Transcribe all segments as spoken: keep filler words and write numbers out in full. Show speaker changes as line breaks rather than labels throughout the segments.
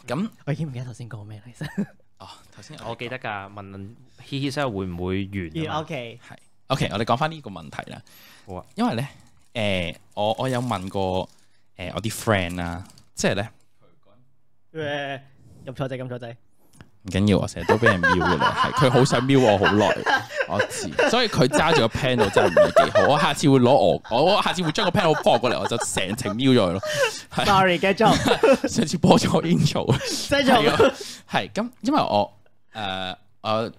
咁
我已經唔記得頭先講咩啦，其實。
哦，頭先
我記得㗎，問嘻嘻聲會唔會完
？O K，
係 O K，我哋講翻呢個問題啦。
好啊，
因為咧，誒，我我有問過誒我啲 friend 啦，即係咧，
誒，入錯掣，入錯掣。
唔緊要，我成日都俾人瞄嘅啦，係佢好想瞄我好耐，我知，所以佢揸住個 panel 真係唔係幾好。我下次會攞我，我下次會將個 panel 播過嚟，我就成程瞄咗佢咯。
Sorry，繼續。
上次播咗 intro，
繼續。
係咁，因為我誒我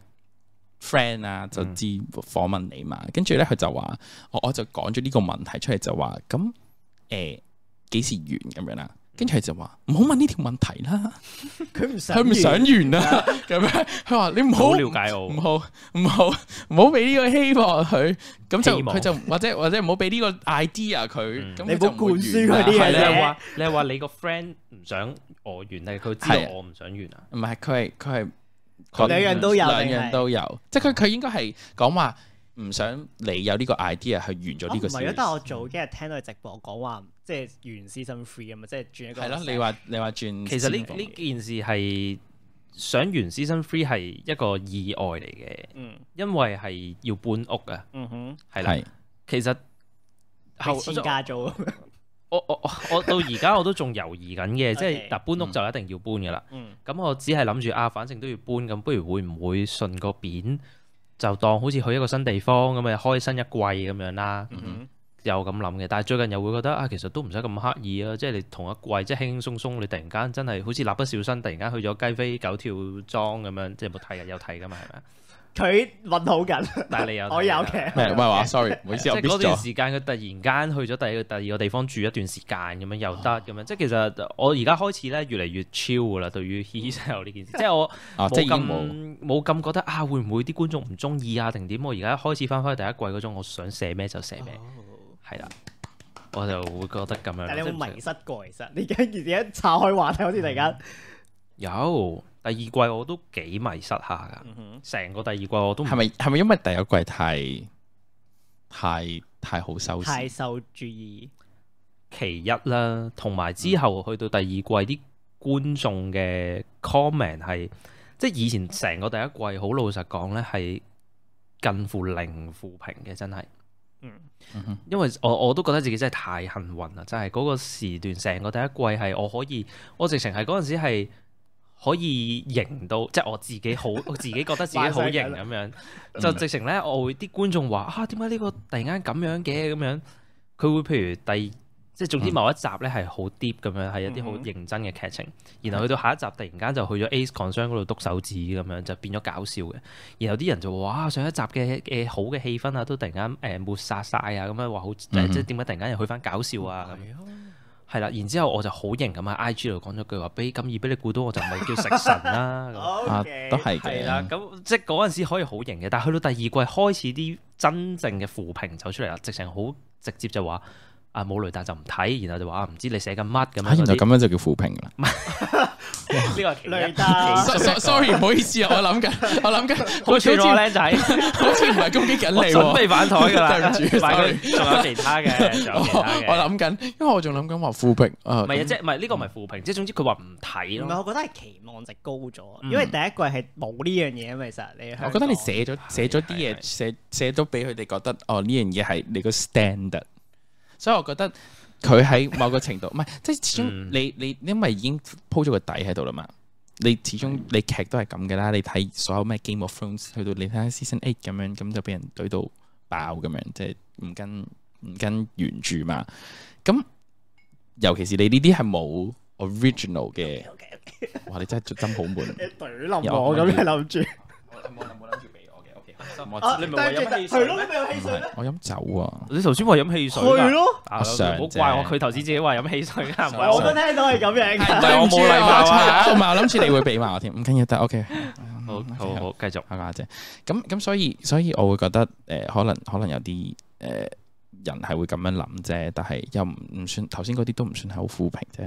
friend 啊就知訪問你嘛，跟住咧佢就話，我我就講咗呢個問題出嚟，就話咁誒幾時完咁樣啦。跟住佢就話唔好問呢條問題啦，
佢唔想，
佢唔想完啦，咁樣佢話你唔好
了解我，
唔好唔好唔好俾呢個希望佢，咁就佢就或者或者唔好俾呢個 idea 佢，咁你唔好灌輸佢啲嘢。
你係話你係話你個 friend 唔想我完，定係佢知道我唔想完啊？
唔係，佢係佢係
兩樣都有，
兩樣都有，即係佢佢應該係講話唔想你有呢個 idea 去完咗呢個事。唔係啊，
但係我早幾日聽到佢直播講話。即係完 season three 啊嘛，即係轉一個。係咯，
你話你話轉。
其實呢呢件事係想完 season three 係一個意外嚟嘅，嗯，因為係要搬屋啊，嗯哼，係啦，是其實
後遷家租，
我我我到而家我都仲猶豫緊嘅，即係嗱搬屋就一定要搬噶啦，嗯，咁我只係諗住啊，反正都要搬，咁不如會唔會順個便就當好似去一個新地方咁啊，開新一季咁樣啦，嗯哼。有咁諗嘅，但係最近又會覺得啊，其實都唔使咁刻意啊，即係你同一季即係輕輕鬆鬆，你突然間真係好似蠟筆小新，突然間去咗雞飛九跳莊咁樣，即係有冇睇啊？有睇噶嘛？係咪啊？
佢問好緊，
但係你有
我有嘅。
咩？唔係話 sorry，唔好意思，我 miss 咗。
嗰段時間佢突然間去咗第二個第二個地方住一段時間咁樣又得咁樣，即係其實我而家開始咧越嚟越 chill 噶啦，對於 Hee 呢件事，即係我冇咁冇咁覺得啊，會唔會啲觀眾唔中意啊定點？我而家開始翻返去第一季嗰種，我想寫咩就寫咩。係啦，我就會覺得咁樣。
但係你有冇迷失過？其實你而家而家岔開話題，好似突然間
有第二季我都幾迷失下噶。成、嗯、哼個第二季我都係
咪係咪因為第一季太太太好收視，
太受注意？
其一啦，同埋之後去到第二季啲觀眾嘅 comment 係，即係以前成個第一季好老實講咧，係近乎零負評嘅，真係。嗯，因為我我都覺得自己真係太幸運啦，真係嗰個時段成個第一季係我可以，我直情係嗰陣時係可以型到，即係我自己好，我自己覺得自己好型咁樣，就直情咧我會啲觀眾話啊，點解呢個突然間咁樣嘅咁樣，佢會譬如第。即係總之某一集咧係好 deep 咁樣，係一啲好認真嘅劇情，嗯、然後去到下一集突然間就去咗 Ace Concern 嗰度篤手指咁樣，就變咗搞笑嘅。然後啲人就話：哇，上一集嘅誒好嘅氣氛啊，都突然間誒抹殺晒啊，咁樣話好，嗯、即係點解突然間又去翻搞笑啊？咁係啦，然之後我就好型咁喺 I G 度講咗句話：俾咁易俾你估到，我就唔係叫食神啦。
Okay,
都係嘅。係啦，
咁即係嗰陣時可以好型嘅，但係去到第二季開始啲真正嘅負評走出嚟啦，直情好直接就話。啊冇雷達就唔睇，然後就話唔知你寫緊乜咁樣。
原來咁樣就叫負評啦。
呢個
雷達。
sorry 唔好意思啊，我諗緊，我諗緊，
好似我靚仔，
好似唔係攻擊緊你喎。
準備反台㗎啦，
對唔住，
仲有其他嘅，仲有其他嘅。
我諗緊，因為我仲諗緊話負評。
唔係啊，即係唔係呢個唔係負評，即係總之佢話唔睇咯。
唔係，我覺得係期望值高咗，因為第一季係冇呢樣嘢啊嘛。其實你
我覺得你寫咗寫咗啲嘢，寫寫咗俾佢哋覺得，哦呢樣嘢係你個 standard。所以我覺得佢喺某個程度，唔係即係始終你你因為已經鋪咗個底喺度啦嘛，你始終你劇都係咁嘅啦，你睇所有咩 Game of Thrones 去到你睇下 Season Eight 咁樣，咁就俾人懟到爆咁樣，即係唔跟唔跟原著嘛。咁尤其是你呢啲係冇 original 嘅，哇！你真係真好悶，
懟冧我咁樣諗住，
我冇冇諗住。
你咪話飲汽水？
係咯，你咪有汽水咩？
我飲酒啊！
你頭先話飲汽水。
係咯。
我想。
唔好怪我，佢頭先自己話飲汽水㗎。
唔係，我都聽到係咁樣㗎。
唔係我冇禮貌啊！
同埋我諗住你會俾埋我添，唔緊要得 OK。
好好好，繼續
阿家姐。咁咁所以所以我會覺得誒，可能可能有啲誒人係會咁樣諗啫，但係又唔唔算頭先嗰啲都唔算係好負評啫。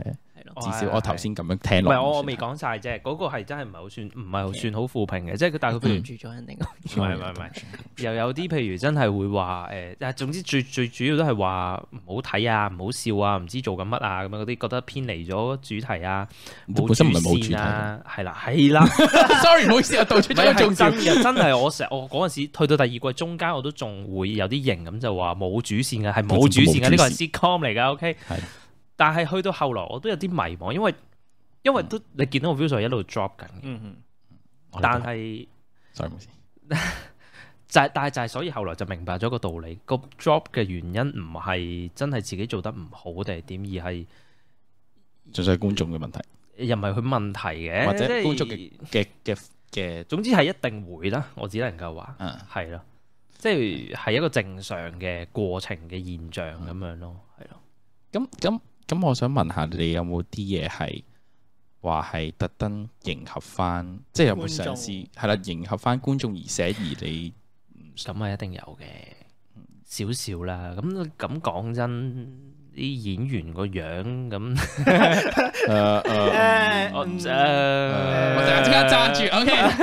咯。
至少我頭先咁樣聽落。
唔係我我未講晒啫，嗰個係真係唔係好算，唔係好算好負評嘅，即係佢但係佢譬如
住咗人哋，
唔係唔係唔係，又有啲譬如真係會話誒，但係總之最最主要都係話唔好睇啊，唔好笑啊，唔知做緊乜啊咁樣嗰啲，覺得偏離咗主題啊，冇主線啊，係啦係啦。
Sorry， 唔好意思，我道出咗重點。
真係我成我嗰陣時去到第二季中間，我都仲會有啲型咁就話冇主線嘅，係冇主線嘅，呢個係 sitcom 嚟㗎 ，OK。但係去到後來，我都有啲迷茫，因為因為都你見到個 view 數一路 drop 緊嘅。嗯嗯。但係，sorry， 冇事。就係但係就係，所以後來就明白咗個道理，個 drop 嘅原因唔係真係自己做得唔好定係點，而係
純粹係觀眾嘅問題。
又唔係佢問題嘅，
或者觀眾嘅嘅嘅嘅，
總之係一定會啦。我只能夠話，係咯、嗯，即係係一個正常嘅過程嘅現象咁、嗯、樣咯，係咯。
咁咁咁，我想問下你有冇啲嘢係話係特登迎合翻，即係有冇嘗試係啦，迎合翻觀眾而寫而你
咁啊，一定有嘅，少少啦。咁咁講真。啲演員個樣咁，誒誒，我誒，
我陣間即刻揸住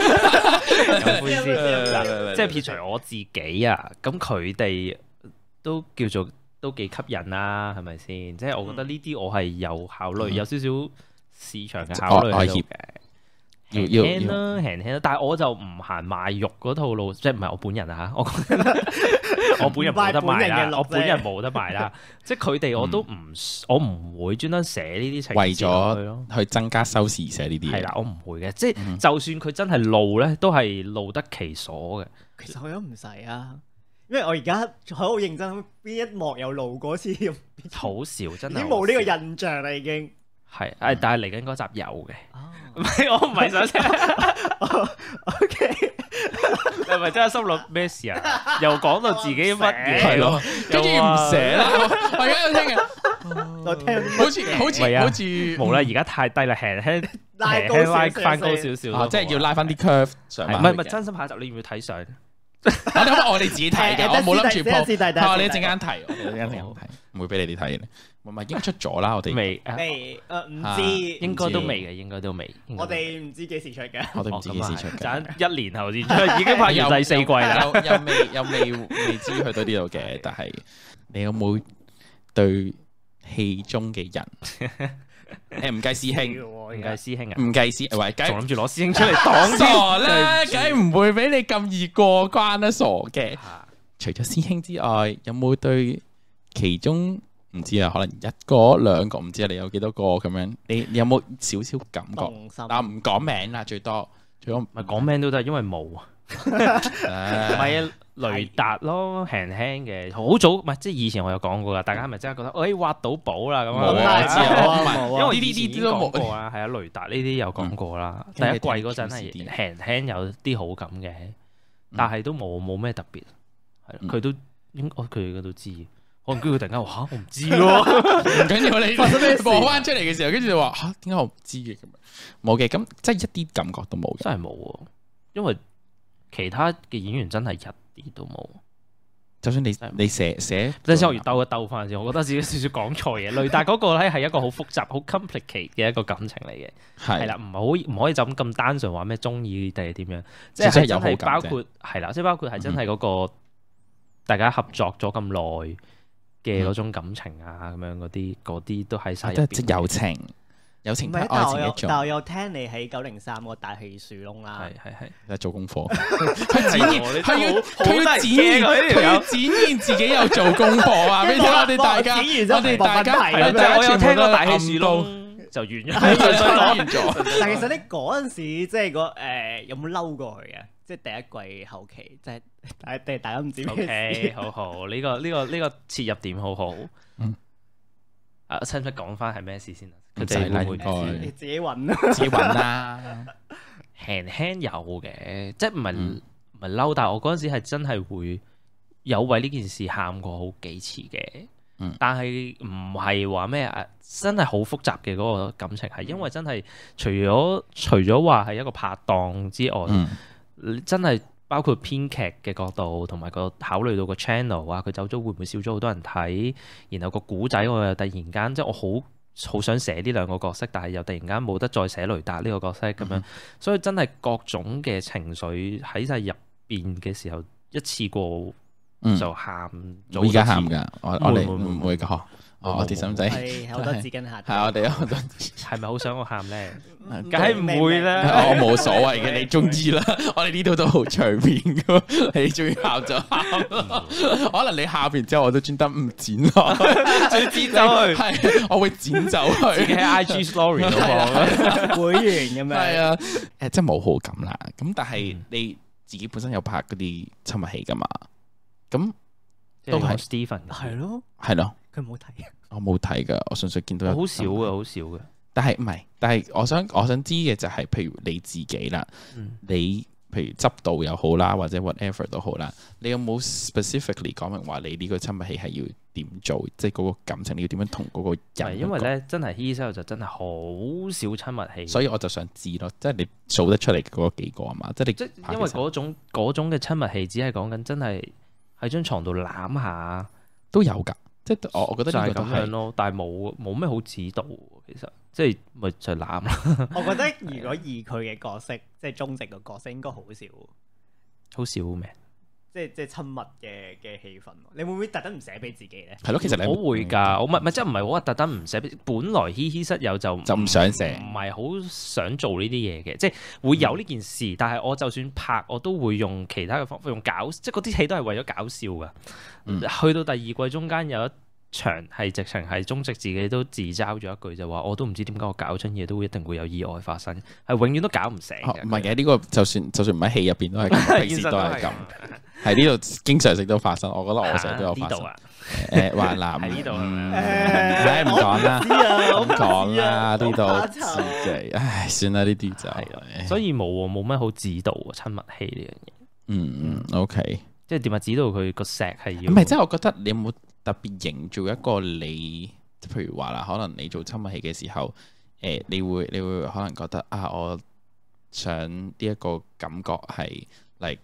，OK。
有杯先，即係撇除我自己啊，咁佢哋都叫做都幾吸引啦，係咪先？即係我覺得呢啲我係有考慮，有少少市場嘅考慮喺度嘅。輕輕啦，輕輕啦，但係我就唔行賣肉嗰套路，即係唔係我本人啊嚇，我我本人冇得賣啦，我本人冇得賣啦，即係佢哋我都唔，我唔會專登寫呢啲情節
為咗去增加收視寫呢啲嘢。
係啦，我唔會嘅，即係就算佢真係露咧，都係露得其所嘅。
其實我都唔使啊，因為我而家好認真，邊一幕有露過次，
好少真係，
已經冇呢個印象啦，已經
係誒，但係嚟緊嗰集有嘅。唔係，我唔係想寫。O K， 你係咪真係心諗咩事啊？又講到自己乜嘢？
係咯，跟住唔寫啦。我而家有聽嘅，
我聽
好似好似好似
冇啦，而家太低啦，輕輕拉高拉翻高少少，
即係要拉翻啲 curve 上。
唔係唔係，真心下集你要唔要睇相？
我我哋自己睇嘅，我冇諗住 po。
係
我哋一陣間睇，我哋一陣間睇，唔會俾你哋睇嘅。唔係已經出咗啦，我哋
未
未誒唔知，
應該都未嘅，應該都未。
我哋唔知幾時出嘅，
我哋唔知幾時出嘅，
等一年後先出，已經拍完第四季啦。
又未又未未知去到呢度嘅，但係你有冇對戲中嘅人誒唔計師兄，
唔計師兄啊，
唔計師，喂，
仲諗住攞師兄出嚟擋
傻啦，梗係唔會俾你咁易過關啦，傻嘅。除咗師兄之外，有冇對其中？唔知啊，可能一個兩個，唔知啊，你有幾多個咁樣？你你有冇少少感覺？但唔講名啦，最多最多唔
係講名都得，因為冇啊。唔係啊，雷達咯，輕輕嘅，好早唔係即係以前我有講過噶，大家係咪真係覺得誒挖到寶啦咁啊？
冇啊，冇啊，
因為呢啲都講過啦，係啊，雷達呢啲有講過啦。第一季嗰陣係輕輕有啲好感嘅，但係都冇冇咩特別，係佢都應該佢哋都知。我唔知佢突然間話嚇，我唔知喎，
唔緊要你播翻出嚟嘅時候，跟住就話嚇，點解我唔知嘅咁樣？冇嘅，咁即係一啲感覺都冇，
真係冇喎。因為其他嘅演員真係一啲都冇。
就算你你寫寫，
即係我要兜一兜翻先，我覺得自己少少講錯嘢。雷達嗰個咧係一個好複雜、好 complicate 嘅一個感情嚟嘅，係啦，唔係好唔可以就咁咁單純話咩中意定係點樣，即係真係包括係啦，即係包括係真係嗰個大家合作咗咁耐嘅嗰種感情啊，咁樣嗰啲嗰啲都喺晒入邊，
即係友情，友情愛情一種。
但我有聽你喺九零三個大戲樹窿啦，
係係係，
喺做功課，佢展現，佢要佢要展現，佢要展現自己有做功課啊！俾我哋大家，我哋大家係
我有聽過大戲樹窿就完咗，
完咗。但其實你嗰陣時即係個誒有冇嬲過佢嘅？即係第一季後期，即係大家大家唔知咩事。
O K， 好好，呢個呢個呢個切入點好好。嗯。啊，使唔使講翻係咩事先啊？佢哋會唔會
你自己揾啦，
自己揾啦。
輕輕有嘅，即係唔係唔係嬲，但係我嗰陣時係真係會有為呢件事喊過好幾次嘅。嗯。但係唔係話咩啊？真係好複雜嘅嗰個感情，係因為真係除咗除咗話係一個拍檔之外。嗯。真係包括編劇嘅角度，同埋個考慮到個 channel 啊，佢走咗會唔會少咗好多人睇？然後個古仔我又突然間即係我好好想寫呢兩個角色，但係又突然間冇得再寫雷達呢個角色咁樣，
嗯、
所以真係各種嘅情緒喺晒入邊嘅時候，一次過就喊。
我而家喊㗎，我我哋唔會㗎。我哋心仔
係好多紙巾下，
係我哋好多，
係咪好想我喊咧？梗係唔會啦，
我冇所謂嘅，你中意啦。我哋呢度都好隨便㗎，你中意喊就喊。可能你喊完之後，我都專登唔剪咯，
再剪走佢。
係，我會剪走佢。
自己喺 I G Story 度放
會員咁樣。係
啊，誒，即係冇好感啦。咁但係你自己本身有拍嗰啲親密戲㗎嘛？咁都係
Stephen
係咯，
係咯。
佢冇睇，
我冇睇噶，我純粹見到有
好少嘅，好少嘅。
但係唔係，但係我想我想知嘅就係，譬如你自己啦，嗯、你譬如執導又好啦，或者 whatever 都好啦，你有冇 specifically 講明話你呢個親密戲係要點做？即係嗰個感情你要點樣同嗰個人？
因為咧真係 Heat 就真係好少親密戲，
所以我就想知咯，即係你數得出嚟嗰幾個啊嘛，即係你
即因為嗰種嗰種嘅親密戲，只係講緊真係喺張床度攬下
都有㗎。即係我，我覺得呢個
就係咁樣咯，但係冇冇咩好指導，其實即係咪就攬啦？
我覺得如果以佢嘅角色，即係忠直嘅角色，應該好少，
好少咩？
即係即係親密嘅嘅氣氛。你會唔會特登唔寫俾自己咧？
係咯，其實你
我會㗎，我唔係即係唔係我話特登唔寫俾。本來 Heat 室友就
就唔想寫，
唔係好想做呢啲嘢嘅，即係會有呢件事。嗯、但係我就算拍，我都會用其他嘅方法，用搞，即係嗰啲戲都係為咗搞笑㗎。嗯、去到第二季中間有一場係直情係忠直自己都自嘲咗一句就話，我都唔知點解我搞親嘢都會一定會有意外發生，係永遠都搞唔成嘅。
唔係嘅，呢個就算就算唔喺戲入邊都係咁，平時都係咁。喺呢度經常性都發生，我覺得我成日都有發生。誒，華南喺呢度，誒唔講啦，唔講啦，呢度自己，唉，算啦，呢啲就係。
所以冇冇乜好指導親密戲呢樣嘢。
嗯嗯，OK。
即係點啊？指導佢個石係要。
唔係，即係我覺得你有冇特別營造一個你，譬如話啦，可能你做親密戲嘅時候，誒、呃，你會你會可能覺得啊，我想呢一個感覺係 like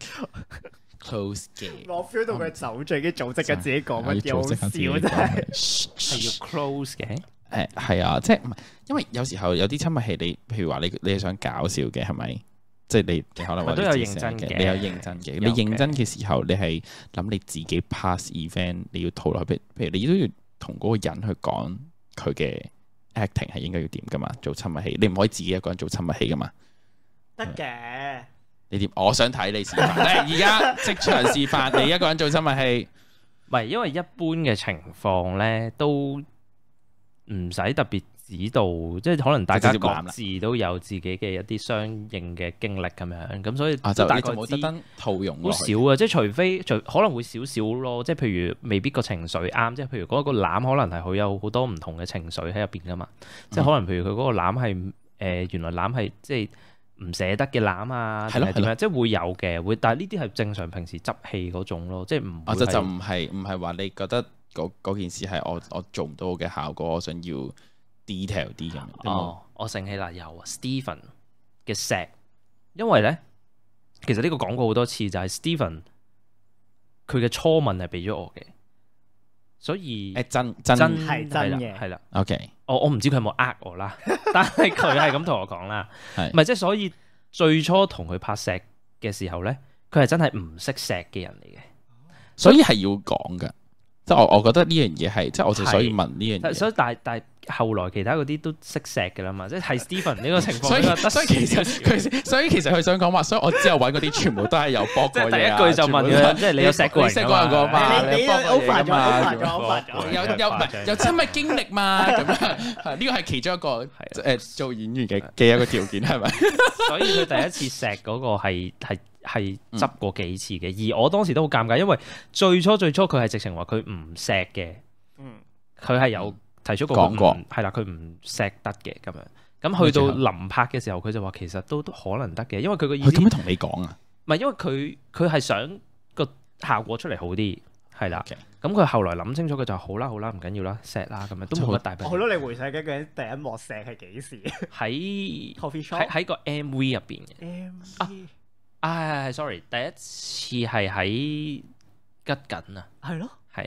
close 嘅。
我 feel 到佢走最嘅組織嘅自己講乜嘢好笑真係，
係要 close 嘅。
誒係啊，即係唔係？因為有時候有啲親密戲，你譬如話你你係想搞笑嘅，係咪？即係你，你可能話
都有認真嘅，
你有認真嘅。你認真嘅時候，你係諗你自己 pass event，你要套落去。譬如你都要同嗰個人去講佢嘅 acting 係應該要點噶嘛？做親密戲，你唔可以自己一個人做親密戲噶嘛？
得嘅。
你點？我想睇你示範。而家即場示範，你一個人做親密戲。
唔係，因為一般嘅情況咧，都唔使特別指導，即係可能大家各自都有自己嘅一啲相應嘅經歷咁樣，咁所以
啊就大概冇特登套用
好少啊，即係除非除可能會少少咯，即係譬如未必個情緒啱，即係譬如嗰個攬可能係佢有好多唔同嘅情緒喺入邊噶嘛，嗯、即係可能譬如佢嗰個攬係誒原來攬係即係唔捨得嘅攬啊，定係點樣？即係會有嘅，會，但係呢啲係正常平時執戲嗰種咯，即係唔。啊就就唔係唔係話你覺得嗰件事係我我做唔到嘅效果，我想要 detail 啲咁。 哦，我醒起啦，有啊 Stephen 嘅石，因為咧其實呢個講過好多次，就係、是、Stephen 佢嘅初吻係俾咗我嘅，所以
誒真真
係真嘅
係啦。
OK，
我我唔知佢有冇呃我啦，但係佢係咁同我講啦，係咪即係所以最初同佢拍石嘅時候咧，佢係真係唔識石嘅人嚟嘅，
所以係要講噶。即係我我覺得呢樣嘢係，即係我就所以問呢樣嘢。
所以但係但係後來其他嗰啲都識錫嘅啦嘛，即係 Stephen 呢個情況。
所以所以其實佢所以其實佢想講話，所以我之後揾嗰啲全部都係有搏過嘢。
第一句就問佢，即係你有錫過人㗎嘛？
你你有 over 咗 over 咗 over 咗，
有有唔係有親密經歷嘛？咁樣呢個係其中一個誒做演員嘅嘅一個條件係咪？
所以佢第一次錫嗰個係係。係執過幾次嘅，嗯、而我當時都好尷尬，因為最初最初佢係直情話佢唔錫嘅，佢係、嗯、有提出過講過，係啦，佢唔錫得嘅咁樣。咁去到臨拍嘅時候，佢就話其實都都可能得嘅，因為佢個意思。佢點樣同你講啊？唔係因為佢佢係想個效果出嚟好啲，係啦。咁佢 Okay. 後來諗清楚，佢就好啦好啦，唔緊要啦，錫啦咁樣都冇乜大不了。
好咯，你回想緊嘅第一幕錫係幾時？喺
喺喺個 M V 入邊嘅。
M V
啊，係係係，sorry，第一次係喺吉緊啊，
係咯，
係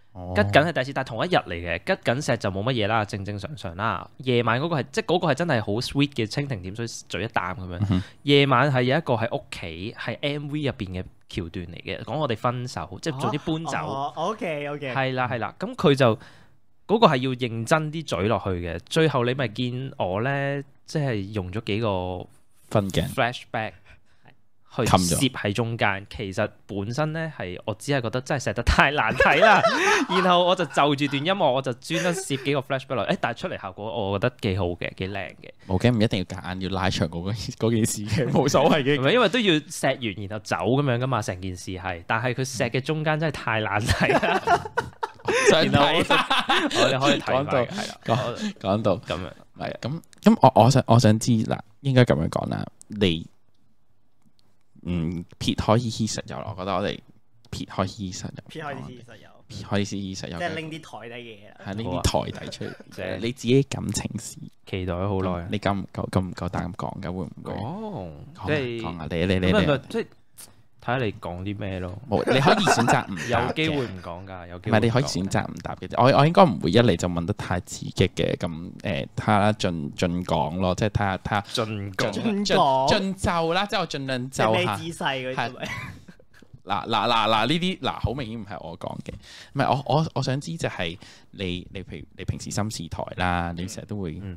吉緊係第一次，但係同一日嚟嘅，吉緊石就冇乜嘢啦，正正常常啦。夜晚嗰個係即係嗰個係真係好 sweet 嘅蜻蜓點水咀一啖咁樣。嗯、哼夜晚係有一個喺屋企係 M V 入邊嘅橋段嚟嘅，講我哋分手，即係早啲搬走。
哦哦、OK OK。係
啦係啦，咁佢就嗰、嗰個係要認真啲咀落去嘅。最後你咪見我咧，即係用咗幾個
分鏡
flashback。去攝喺中間，其實本身咧係我只係覺得真係寫得太難睇啦，然後我就就住段音樂，我就專登攝幾個 flashback 落，誒，但係出嚟效果我覺得幾好嘅，幾靚嘅。
冇嘅，唔一定要夾硬要拉長嗰嗰件事嘅，冇所謂嘅。
唔係因為都要錫完然後走咁樣噶嘛，成件事係，但係佢錫嘅中間真係太難睇啦。
想睇，
我哋可以睇
到
係啦，
講講到
咁樣，
係咁咁，我我想我想知嗱，應該咁樣講啦，你。嗯，撇開依依實有，我覺得我哋撇開依實有，
撇開依實有，
撇開依實有，
即係拎啲台底嘅嘢啦，
係拎啲台底出嚟，即係你自己感情事，
期待咗好耐。
你夠唔夠夠唔夠膽講㗎？會唔會
講？
即係講下你你你
你，即係睇下你講啲咩咯。
冇，你可以選擇唔
有機會唔講㗎，有機會。
唔係你可以選擇唔答嘅。我我應該唔會一嚟就問得太刺激嘅，咁誒睇下盡盡講咯，即係睇下睇下
盡講
盡盡就啦，即係我盡量就下。
姿勢嗰啲咪？
嗱嗱嗱嗱呢啲嗱好明顯唔係我講嘅，唔係我我我想知就係你你譬如你平時心事台啦，你成日都會誒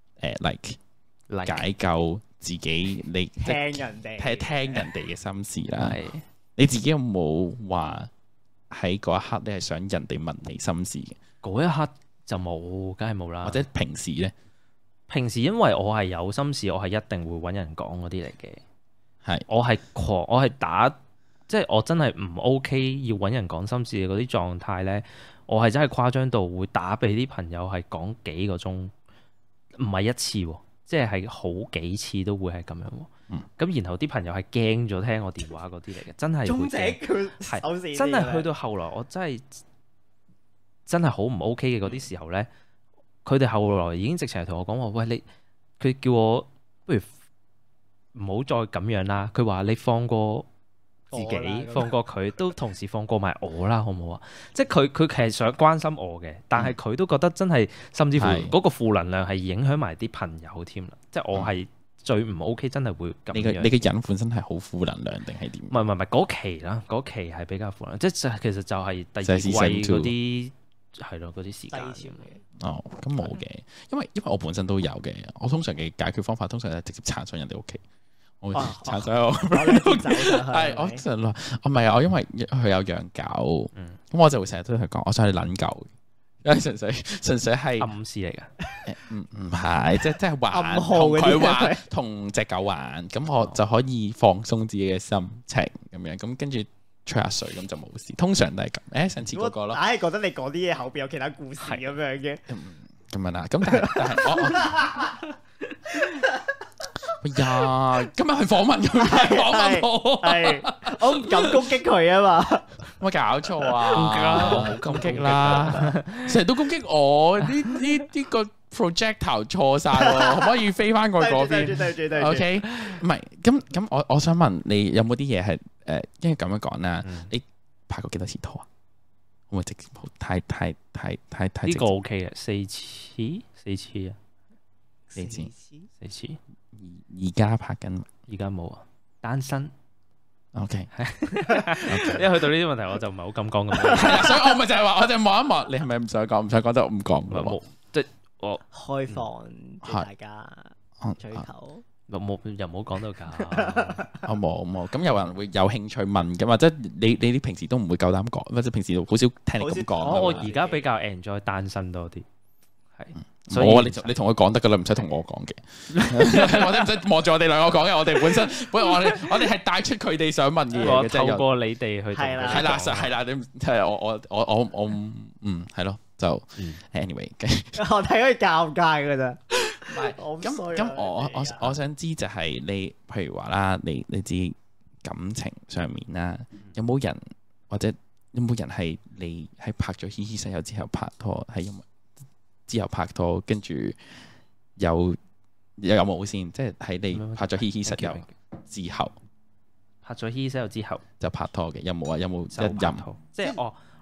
like 解救自己，你
聽人哋
聽聽人哋嘅心事啦。你自己有冇話喺嗰一刻你係想人哋問你心事嘅？
嗰一刻就冇，梗係冇啦。
或者平時咧？
平時因為我係有心事，我係一定會揾人講嗰啲嚟嘅。係
是
我係狂，我係打，即係我真係唔 OK 要揾人講心事嘅嗰啲狀態呢。我係真係誇張到會打俾啲朋友係講幾個鐘，唔係一次喎。即係係好幾次都會係咁樣喎，咁、嗯、然後啲朋友係驚咗聽我電話嗰啲嚟嘅，真係會驚，係真係去到後來，我真係真係好唔 OK 嘅嗰啲時候呢，佢哋後來已經直情係同我講話，喂，你，佢叫我不如唔好再咁樣啦，佢話你放過自己，放過佢，都同時放過埋我啦，好唔好啊？即係佢佢其實想關心我嘅，但係佢都覺得真係，甚至乎嗰個負能量係影響埋啲朋友添啦。是即係我係最唔 OK，真係會咁樣。你嘅你嘅人本身係好負能量定係點？唔係唔係唔係嗰期啦，嗰期係比較負能量，即係其實就係第二季嗰啲係咯，嗰啲時間。哦，咁冇嘅，因為因為我本身都有嘅，我通常嘅解決方法通常係直接撐上人哋屋企。我鏟晒我，係我成日話，我唔係啊！我因為佢有養狗，咁我就會成日都同佢講，我想去撚狗，因為純粹純粹係暗示嚟㗎。唔唔係，即係即係玩，同佢玩，同隻狗玩，咁我就可以放鬆自己嘅心情咁樣，咁跟住吹下水，咁就冇事。通常都係咁。誒，上次嗰個咯，硬係覺得你講啲嘢後邊有其他故事咁樣嘅。咁樣啦，咁但係但係我。哎呀，今日係訪問佢，訪問我，係我唔敢攻擊佢啊嘛，有冇搞錯啊？唔好攻擊啦，成日都攻擊我，呢呢呢個 projector 錯晒喎，可唔可以飛翻過去嗰邊？對住對住對住 OK，唔係，咁咁我我想問你有冇啲嘢係誒，因為咁樣講啦，你拍過幾多次拖啊？會唔會直接太太太太太？呢個 OK 嘅，四次四次啊，四次四次。而家拍緊，而家冇啊，單身。OK，因為去到呢啲問題，我就唔係好敢講咁多。係啊，所以我咪就係話，我就望一望，你係咪唔想講？唔想講就唔講。冇，即係我開放大家追求。冇又冇講到㗎。我冇冇。咁有人會有興趣問㗎嘛？即係你你啲平時都唔會夠膽講，或者平時好少聽你咁講。我而家比較 enjoy 單身多啲，係。我你你同佢講得噶啦，唔使同我講嘅，我哋唔使望住我哋兩個講嘅。我哋本身本我哋我哋係帶出佢哋想問嘅嘢嘅，透過你哋去係啦係啦係啦，你係我我我我我嗯係咯，就 anyway，我睇佢尷尬噶咋。唔係咁咁，我我我想知就係你，譬如話啦，你你自己感情上面啦，有冇人或者有冇人係你喺拍咗《嘻嘻室友》之後拍拖係因為？之後拍拖，跟住有有冇先？即係喺你拍咗《嘻嘻室友》之後，拍咗《嘻嘻室友》之後就拍拖嘅，有冇啊？有冇一任？即係我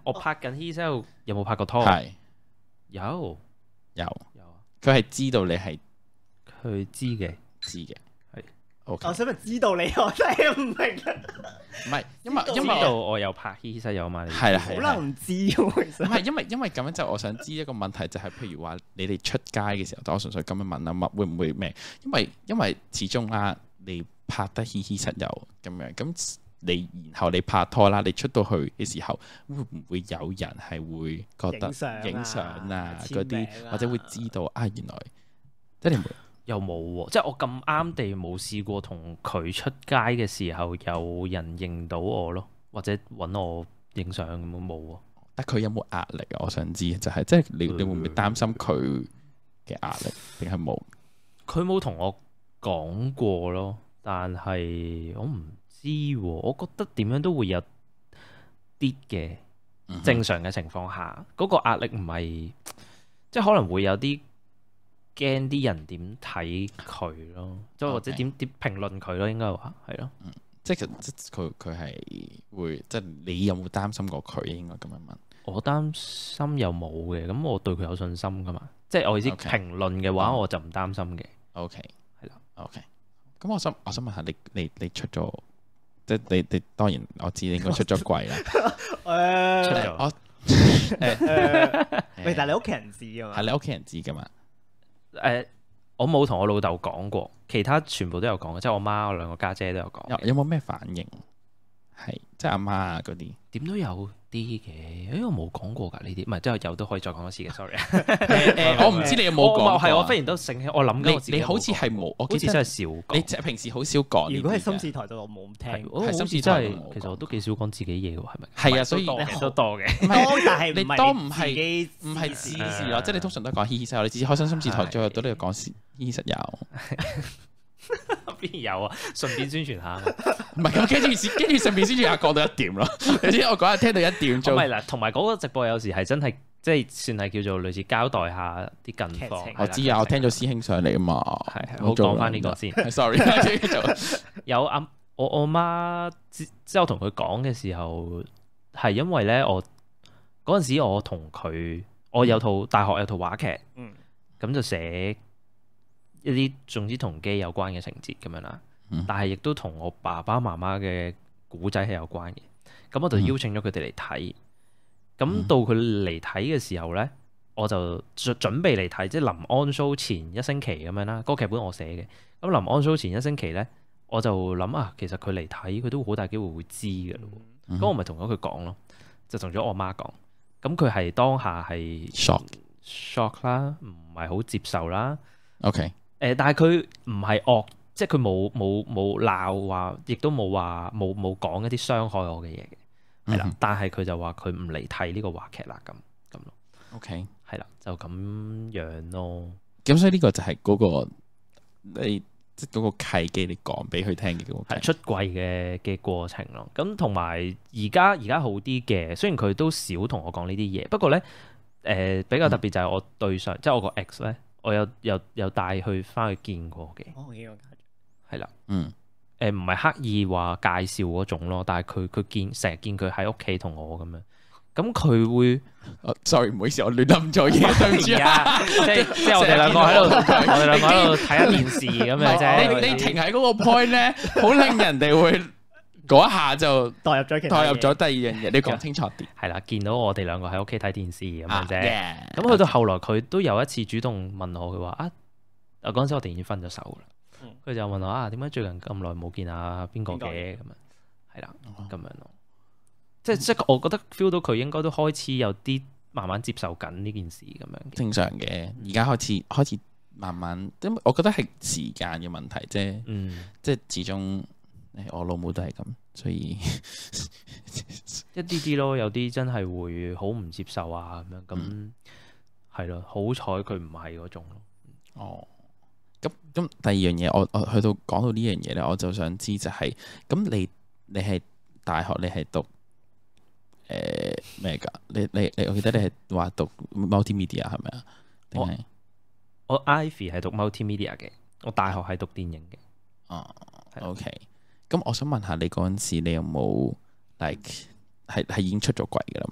我拍緊 He Sell 有冇拍過拖？
係
有
有
有啊，
佢係知道你係
佢知嘅，
知嘅。
係
OK。
我想問知道你，我真係唔明啊！
唔係，因為因
知
為
道我有拍 He Sell 嘛？
係啦
好
係啦。
難唔知喎，其實
唔係因為因為咁樣就我想知一個問題就係譬如話你哋出街嘅時候，我純粹咁樣問啊，乜會唔會咩？因為因為始終啦，你拍得嘻嘻室友咁樣咁。你然後你拍拖啦，你出到去嘅時候，會唔會有人係會覺得影相啊嗰啲，或者會知道啊原來即係你
又冇喎，即係我咁啱地冇試過同佢出街嘅時候有人認到我咯，或者揾我影相咁冇喎。
但佢有冇壓力啊？我想知就係、是、即係你你會唔會擔心佢嘅壓力，定係冇？
佢冇同我講過咯，但係我唔知喎，我覺得點樣都會有啲嘅正常嘅情況下，嗰、嗯、個壓力唔係即係可能會有啲驚啲人點睇佢咯，即係 Okay. 或者點點評論佢咯，應該話係咯。嗯，
即係即佢佢係會即係你有冇擔心過佢？應該咁樣問。
我擔心又冇嘅，咁我對佢有信心噶嘛。即係我意思評論嘅話，我就唔擔心嘅。
OK，
係啦。
OK，咁我想我想問下你你你出咗。即係你你當然我知你應該出咗櫃啦。誒，出咗我誒，
喂，但係你屋企人知㗎嘛？
係你屋企人知㗎嘛？
誒，我冇同我老豆講過，其他全部都有講嘅，即係我媽、我兩個家姐都有講。
有有冇咩反應？係即係阿媽啊嗰啲，
點都有啲嘅。誒，我冇講過㗎呢啲，唔係即係有都可以再講一次嘅。Sorry。
誒，我唔知你有冇講。
係我忽然都醒起，我諗緊我自己。
你好似係冇，我
好似真係少講。
你平時好少講。
如果係心事台就我冇聽。
係心事真係，其實我都幾少講自己嘢喎，係咪？
係啊，所以
都多嘅。
多，但係
你多唔係
唔
係自事咯，即係你通常都講嘻嘻室友，你自己開心心事台最後都都要講嘻嘻室友。邊
有啊？順便宣傳下，
唔係咁跟住跟住順便宣傳下講到一點咯。你知我嗰日聽到一點鐘，
唔係啦，同埋嗰個直播有時係真係即係算係叫做類似交代下啲近況。
我知啊，我聽咗師兄上嚟啊嘛，
係係，我講翻呢個先。
Sorry，
有阿我我媽之之後同佢講嘅時候，係因為咧我嗰陣時我同佢，我有套大學有套話劇，嗯，咁就寫一啲總之同基有關嘅情節咁樣啦，嗯、但係亦都同我爸爸媽媽嘅古仔係有關嘅。咁我就邀請咗佢哋嚟睇。咁、嗯、到佢嚟睇嘅時候呢，我就準準備嚟睇，即係臨安 show 前一星期咁樣啦。嗰個劇本我寫嘅。咁臨安 show 前一星期呢，我就諗啊，其實佢嚟睇，佢都好大機會會知嘅咯。咁、嗯、我咪同咗佢講咯，就同咗我媽講。咁佢係當下係 shock shock 啦，唔係好接受啦。
OK。
誒，但係佢唔係惡，即係佢冇冇冇鬧話，亦都冇話冇冇講一啲傷害我嘅嘢嘅，係啦。嗯、哼但係佢就話佢唔嚟睇呢個話劇啦，咁咁咯。OK，係啦，就咁樣咯。咁所以呢個就係嗰、嗰個你即係嗰個契機，你講俾佢聽嘅嗰個係出櫃嘅嘅過程咯。咁同埋而家而家好啲嘅，雖然佢都少同我講呢啲嘢，不過咧誒、呃、比較特別就係我對上，嗯、即係我個 ex 咧。我有有有帶佢翻去見過嘅，哦，見過係啦，嗯，誒唔係刻意話介紹嗰種咯，但係佢佢見成日見佢喺屋企同我咁樣，咁佢會、哦、，sorry 唔好意思，我亂諗咗嘢，對唔住啊，即係即係我哋兩個喺度，我哋兩個喺度睇下電視咁樣啫，你你停喺嗰個 point 咧，好令人哋會。嗰一下就代入咗，代入咗第二樣嘢。你講清楚啲。係啦，見到我哋兩個喺屋企睇電視咁樣啫。咁去、啊 yeah, 到後來，佢都有一次主動問我，佢話啊，啊嗰陣時我哋已經分咗手啦。佢、嗯、就問我啊，點解最近咁耐冇見啊邊個嘅咁樣？係啦，咁樣咯。即係即係，我覺得 feel 到佢應該都開始有啲慢慢接受緊呢件事咁樣。正常嘅，而家開始開始慢慢，因為我覺得係時間嘅問題啫。嗯，即係始終。我老母都係咁，所以一啲啲咯，有啲真係會好唔接受啊咁樣，咁係咯，好彩佢唔係嗰種咯。哦，咁咁第二樣嘢，我我去到講到呢樣嘢咧，我就想知就係、是，咁你你係大學你係讀誒咩噶？你你你，我記得你係話讀 multimedia 係咪啊？定係我，我 Ivy 係讀 multimedia 嘅，我大學係讀電影嘅。哦，OK。咁我想問下你嗰陣時，你有冇 like 係係已經出咗櫃噶啦嘛？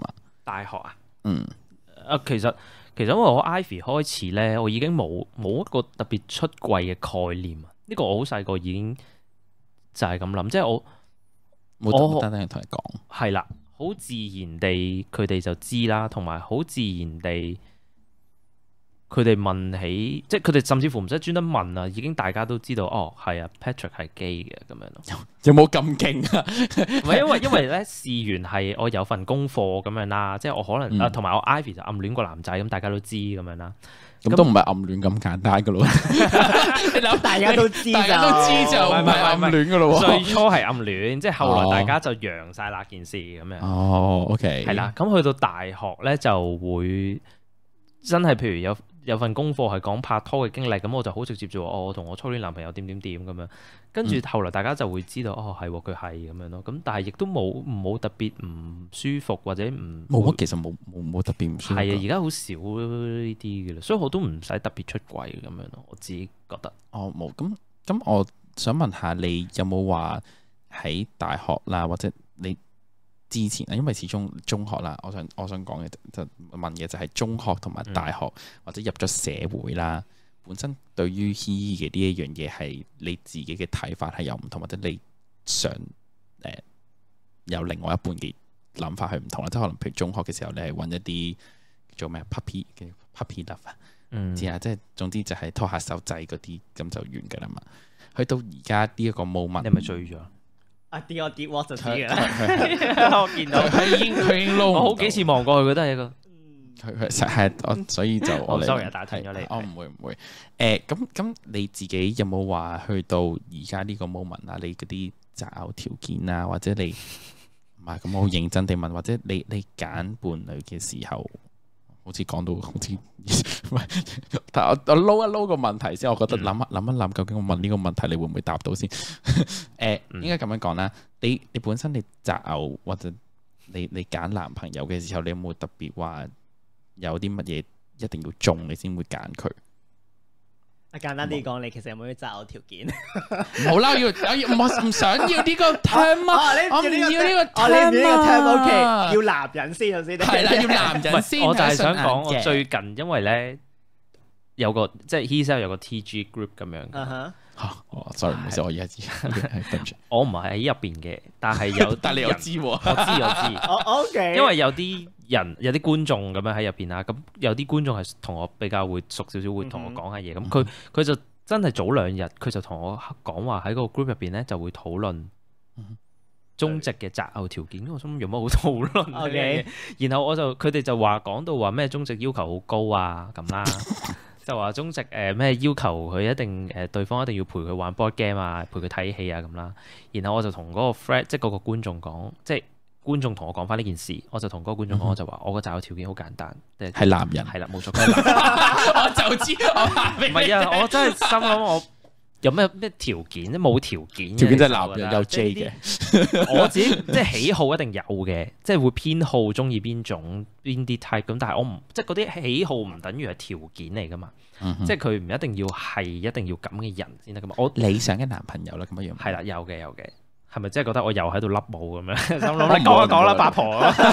大學啊，
嗯，
啊其實其實因為我 Ivy 開始咧，我已經冇冇一個特別出櫃嘅概念啊。呢、這個我好細個已經就係咁諗，即係我
冇單單同你講，
係啦，好自然地佢哋就知啦，同埋好自然地。佢哋問起，即係佢哋甚至乎唔使專登問啊，已經大家都知道哦，係啊 Patrick 係 gay 嘅咁樣咯。
有冇咁勁啊？
唔係因為因為咧，事緣係我有份功課咁樣啦，即係我可能、嗯、啊，同埋我 Ivy 就暗戀個男仔，咁大家都知咁樣啦。
咁都唔係暗戀咁簡單噶咯。
你諗大家都知，
大家都知就唔係暗戀噶咯。
最初係暗戀，即係後來大家就揚晒那件事咁樣。
哦 ，OK，
係啦。咁去到大學咧就會真係，譬如有。有份功課係講拍拖嘅經歷，咁我就好直接就話哦，我同我初戀男朋友點點點咁樣，跟住後來大家就會知道、嗯、哦，係佢係咁樣咯。咁但係亦都冇冇特別唔舒服或者唔
冇，其實冇冇冇特別唔舒服。
係啊，而家好少呢啲嘅啦，所以我都唔使特別出櫃咁樣咯。我自己覺得。
哦，冇咁咁，我想問下你有冇話喺大學啦，或者你？之前啊，因為始終中學啦，我想我想講嘅就問嘅就係中學同埋大學、嗯、或者入咗社會啦，本身對於 H E 嘅呢一樣嘢係你自己嘅睇法係有唔同，或者你想誒、呃、有另外一半嘅諗法係唔同啦，即係可能譬如中學嘅時候你係揾一啲做咩 puppy 嘅 puppy love 啊、嗯，知啊，即係總之就係拖下手仔嗰啲咁就完㗎啦嘛。去到而家呢一個 moment，
你係咪醉咗？
啊跌我跌 what 就知嘅啦，
我見到
佢已經佢已經撈，
我好幾次望過去，覺得係一個，
佢佢實係我，所以就我
sorry 打斷咗你，
我唔會唔會，誒咁咁你自己有冇話去到而家呢個 moment 啊？你嗰啲擇偶條件啊，或者你唔係咁好認真地問，或者你你揀伴侶嘅時候，好似講到好似唔係，但我我撈一撈個問題先，我覺得諗一諗一諗，究竟我問呢個問題你會唔會答到先？誒、呃，應該咁樣講啦。你你本身你擇偶或者你你揀男朋友嘅時候，你有冇特別話有啲乜嘢一定要中你先會揀佢？
啊，簡單啲講，你其實有冇啲擇偶條件？
唔好啦，要我唔唔想要呢個 term 啊！我唔要呢個
term，OK，要男人先頭先。
係啦，要男人先。
我就係想講，我最近因為咧有個即係 HeSell 有個 T G group 咁樣。啊哈。
嚇！哦，sorry，唔好意思，我而家知。對唔住，
我唔係喺入邊嘅，但係有，
但你又知喎？我
知我知。
O K。
因為有啲人有啲觀眾咁樣喺入邊啦，咁有啲觀眾係同我比較會熟少少，會同我講下嘢。咁佢佢就真係早兩日，佢就同我講話喺個 group 入邊咧就會討論中值嘅擇偶條件。我心諗有乜好討論？O K。然後我就佢哋就話講到話咩中值要求好高啊咁啦。就話中值誒咩要求佢一定誒對方一定要陪佢玩 board game 啊，陪佢睇戲啊咁啦。然後我就同嗰個 friend 即係嗰個觀眾講，即係觀眾同我講翻呢件事，我就同嗰個觀眾講，我就話我個擇偶條件好簡單，
係男人，
係啦冇錯，佢係男人。
我就知，唔
係啊，我真係心諗我有咩咩條件咧？冇條件，
條件即係男人有 J 嘅。
我自己即係喜好一定有嘅，即係會偏好中意邊種邊啲 type 咁，但係我唔即係嗰啲喜好唔等於係條件嚟噶嘛。嗯、即係佢唔一定要係一定要咁嘅人先得噶嘛。我理想嘅男朋友啦，咁樣樣係啦，有嘅有嘅，係咪即係覺得我又喺度笠帽咁樣？心諗你講一講啦，八婆。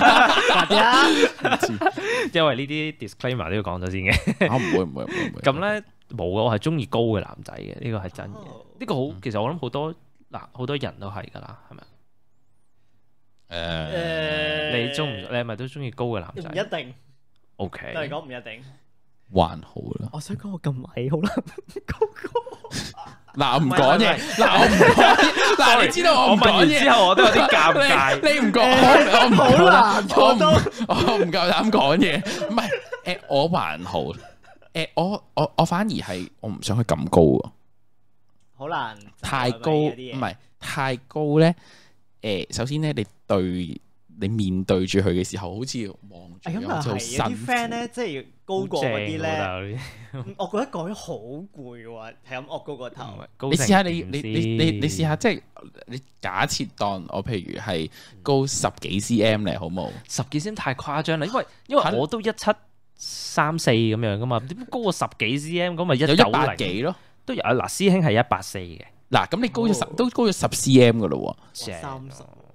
因為呢啲 disclaimer 都要講咗先嘅。我唔會唔會唔會。咁咧冇啊，我係中意高嘅男仔嘅，呢個係真嘅。呢、哦、個好，其實我諗好多嗱好多人都係噶啦，係咪？誒、呃，你中唔？你係咪都中意高嘅男仔？唔一定。O K。都係講唔一定。還好啦，我想講我咁矮好啦，高高。嗱唔講嘢，嗱我唔講嘢，嗱你知道我唔講嘢之後，我都有啲尷尬。你唔講，我唔好難，我都我唔夠膽講嘢。唔係誒，我還好，誒我我我反而係我唔想佢咁高啊，好難，太高唔係太高咧。誒，首先咧，你對。你面對住佢嘅時候，好似望住咁就好辛苦。有啲 friend 咧，即係高過嗰啲咧，我覺得講咗好攰喎，係咁惡高個頭。你試下你你你你你試下，即係你假設當我譬如係高十幾 cm 咧，好冇？十幾 cm 太誇張啦，因為因為我都一七三四咁樣噶嘛，點高過十幾 cm 咁咪一九零幾咯？都有嗱，師兄係一八四嘅。嗱，咁你高咗十都高咗十 cm 噶咯喎。三十。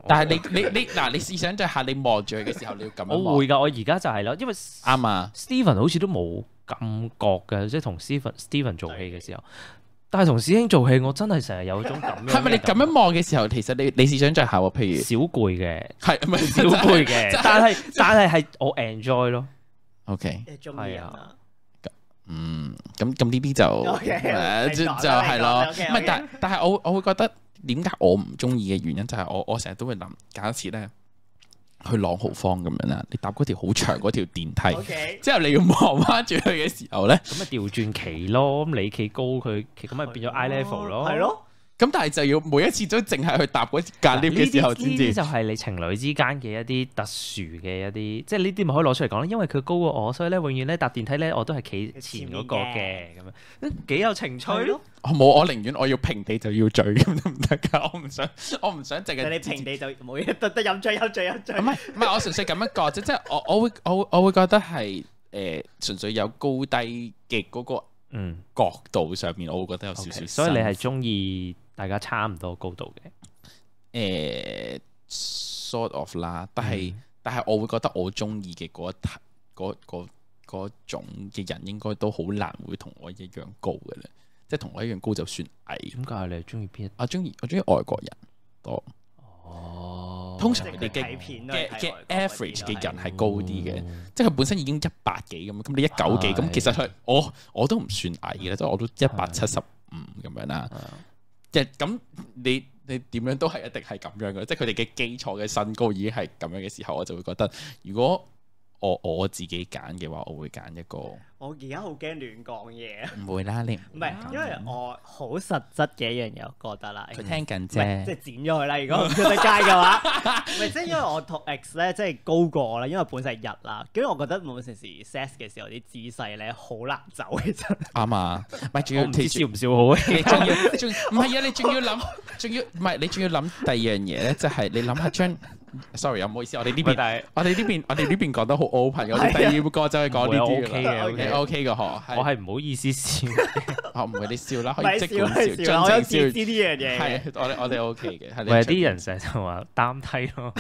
但係你你你嗱，你試想像下，你望住佢嘅時候，你要咁樣望。
我會㗎，我而家就係咯，因為
啱啊。
Steven 好似都冇感覺嘅，即係同 Steven Steven 做戲嘅時候。但係同師兄做戲，我真係成日有種咁樣。係咪
你咁樣望嘅時候，其實你你試想像下喎，譬如
小攰嘅，
係咪
小攰嘅？但係但係係我 enjoy 咯。
OK，
係啊。
嗯，咁咁呢啲就誒就就係咯。唔係，但但係我我會覺得點解我唔中意嘅原因就係我我成日都會諗，假設咧去朗豪坊咁樣啦，你搭嗰條好長嗰條電梯，之後你要望翻住佢嘅時候咧，
咁咪調轉企咯，咁你企高佢，咁咪變咗 eye level 咯，
係咯。
咁但係就要每一次都淨係去搭嗰間 lift 嘅時候先至。
呢啲就係你情侶之間嘅一啲特殊嘅一啲，即係呢啲咪可以攞出嚟講啦。因為佢高過我，所以咧永遠咧搭電梯咧我都係企前嗰個嘅，咁樣幾有情趣咯。
我冇，我寧願我要平地就要醉咁得唔得㗎？我唔想，我唔想淨係
你平地就冇嘢，得得飲醉飲醉飲醉。
唔係唔係，我純粹咁樣講啫，即係我我會我我會覺得係誒純粹有高低嘅嗰個嗯角度上面，我會覺得有少少。
所以你係中意大家差唔多高度
嘅？誒 sort of 啦，但係但係我會覺得我中意嘅嗰一嗰嗰嗰種嘅人應該都好難會同我一樣高嘅咧。即係同我一樣高就算矮。點解你係中意邊？我中意我中意外國人多。哦，通常佢哋嘅嘅嘅 average 嘅人係高啲嘅，即係佢本身已經一百幾咁，咁你一九幾咁，其實佢我我都唔算矮嘅，即係我都一百七十五咁樣啦。即係咁，你你點樣都係一定係咁樣嘅，即係佢哋嘅基礎嘅身高已經係咁樣嘅時候，我就會覺得如果我我自己揀嘅話，我會揀一個。
我而家好驚亂講嘢啊！
唔會啦，你
唔係，因為我好實質嘅一樣嘢，我覺得啦。
佢聽緊啫，
即係剪咗佢啦。如果唔出得街嘅話，唔係即係因為我同 X 咧，即係高過我啦。因為本身係日啦，跟住我覺得冇陣時 sex 嘅時候啲姿勢咧好難走，其實
啱啊！唔係仲要
你笑唔笑好？
你仲要仲唔係啊？你仲要諗，仲要唔係你仲要諗第二樣嘢咧？就係你諗下將。sorry 啊，唔好意思，我哋呢邊，我哋呢邊，我哋呢邊講得好 open，我哋第二個就係講呢啲
OK 嘅
，OK 嘅嗬。
我係唔好意思笑，
我唔會你笑啦，可以即管笑，盡情笑。
呢啲嘢
係我哋我哋 OK 嘅。
唔係啲人成日就話擔梯咯。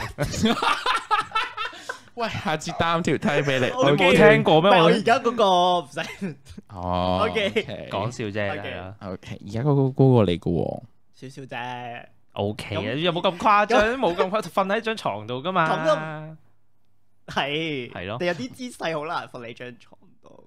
喂，下次擔條梯俾你，
我冇聽過咩？
我而家嗰個唔使。
哦
，OK，
講笑啫。
OK，而家嗰個高過你嘅喎，
少少啫。
O K 啊，有冇咁誇張？冇咁誇，瞓喺張床度噶嘛。咁
都係
係咯。
你有啲姿勢好難瞓喺張床度。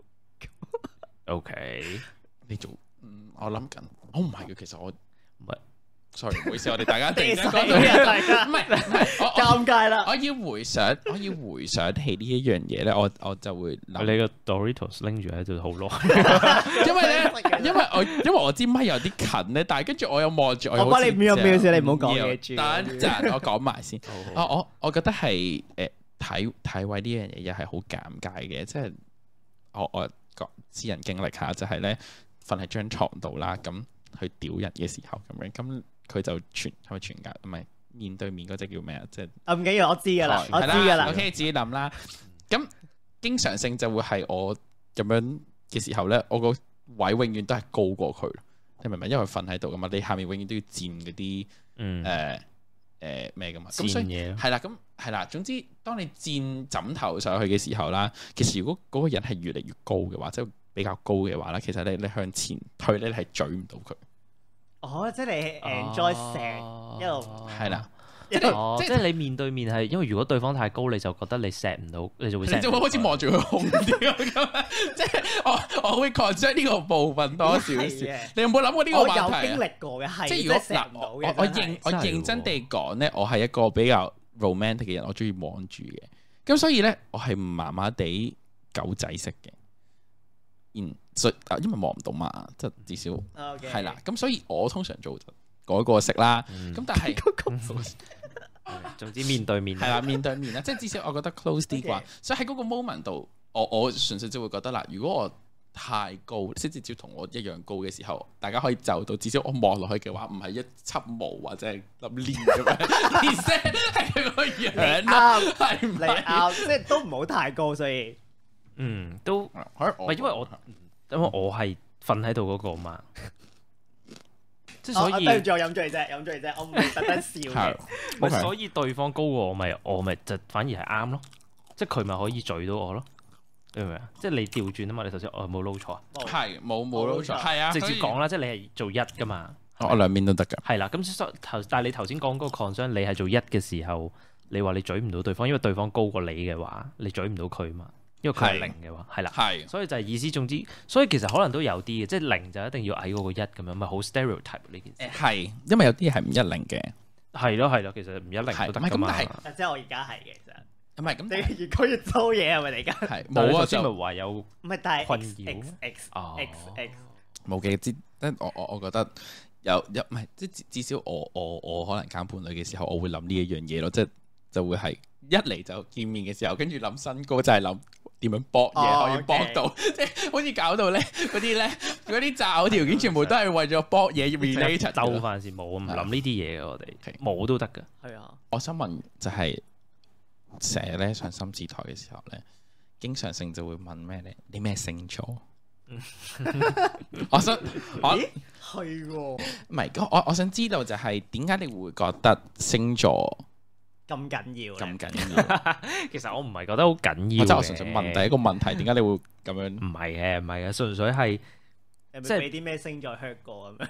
O K，
你做嗯，我諗緊，我唔係嘅，其實我唔係。sorry，唔好意思，我哋大家突然間講到，唔係唔係，
尷尬啦。
我要回想，我要回想起呢一樣嘢咧，我我就會諗
你個 Doritos 拎住喺度好耐，
因為咧，因為我因為我支咪有啲近咧，但係跟住我又望住我，
我幫你瞄瞄先，你唔好講嘢住。
等陣我講埋先。我我我覺得係誒體體位呢樣嘢又係好尷尬嘅，即係我我個私人經歷下就係咧瞓喺張床度啦，咁去屌人嘅時候咁樣咁。佢就全係咪全格？唔係面對面嗰隻叫咩啊？即係
啊，唔緊要，我知噶啦，我知噶啦。
OK，自己諗啦。咁經常性就會係我咁樣嘅時候咧，我個位永遠都係高過佢。你明唔明？因為瞓喺度噶嘛，你下面永遠都要墊嗰啲誒誒咩噶嘛。咁所以係啦，咁係啦。總之，當你墊枕頭上去嘅時候啦，其實如果嗰個人係越嚟越高嘅話，即係比較高嘅話咧，其實你你向前推咧，你係咀唔到佢。
哦，即係你 enjoy 成一路
係啦，
即係即係你面對面係，因為如果對方太高，你就覺得你錫唔到，你就會你
就會開始望住佢空啲咁。即係我我會 concern 呢個部分多少少。你有冇諗過呢個話題？
我有經歷過嘅，係
即係如果嗱，我我認我認真地講咧，我係一個比較 romantic 嘅人，我中意望住嘅。咁所以咧，我係麻麻地狗仔式嘅。嗯，所以因為望唔到嘛，即係至少係啦。咁所以我通常做嗰個式啦。咁但係，
總之面對面
係啦，面對面啦，即係至少我覺得 close 啲啩。所以喺嗰個 moment 度，我我純粹就會覺得啦，如果我太高，即係至少同我一樣高嘅時候，大家可以就到，至少我望落去嘅話，唔係一輯毛或者係粒鏈咁樣，而係係個樣啦，係唔係？
即係都唔好太高，所以。
嗯，都唔係因為我，因為我係瞓喺度嗰個嘛。 即係所以
對住我飲醉啫，飲醉啫，我唔係特登笑嘅。
咪所以對方高過我，咪我咪就反而係啱咯。即係佢咪可以嘴到我咯。你明唔明啊？即係你調轉啊嘛！你頭先我冇撈錯啊？
係冇冇撈錯，係啊！
直接講啦，即係你係做一噶嘛？
我兩邊都得㗎。係
啦，咁頭但係你頭先講嗰個 concern，你係做一嘅時候，你話你嘴唔到對方，因為對方高過你嘅話，你嘴唔到佢嘛？因為佢係零嘅話，係啦，係，所以就係意思總之，所以其實可能都有啲嘅，即係零就一定要矮過個一咁樣，咪好 stereotype 呢件事。係，因為有啲係唔一零嘅。係咯係咯，其實唔一零都得㗎嘛。
即係我而家係嘅，其實。唔
係咁，
你越講越多嘢係咪嚟㗎？
係冇啊，
先咪話有
唔係，但係
困擾
X X X
冇嘅，即係我我我覺得有有唔係，即係至少我我我可能揀伴侶嘅時候，我會諗呢一樣嘢咯，即係就會係一嚟就見面嘅時候，跟住諗身高就係諗點樣搏嘢可以搏到，即係好似搞到咧嗰啲咧嗰啲擇偶條件全部都係為咗搏嘢 related。
就凡事冇唔諗呢啲嘢嘅，我哋冇都得㗎。
係啊，
我想問就係。成日咧上心事台嘅時候咧，經常性就會問咩咧？你咩星座？我想，我
係喎，
唔係我我想知道就係點解你會覺得星座
咁緊要？
咁緊要？
其實我唔係覺得好緊要。
我真係我純粹問第一個問題，點解你會咁樣？
唔係嘅，唔係嘅，純粹係
即係俾啲咩星座 hurt 過咁樣。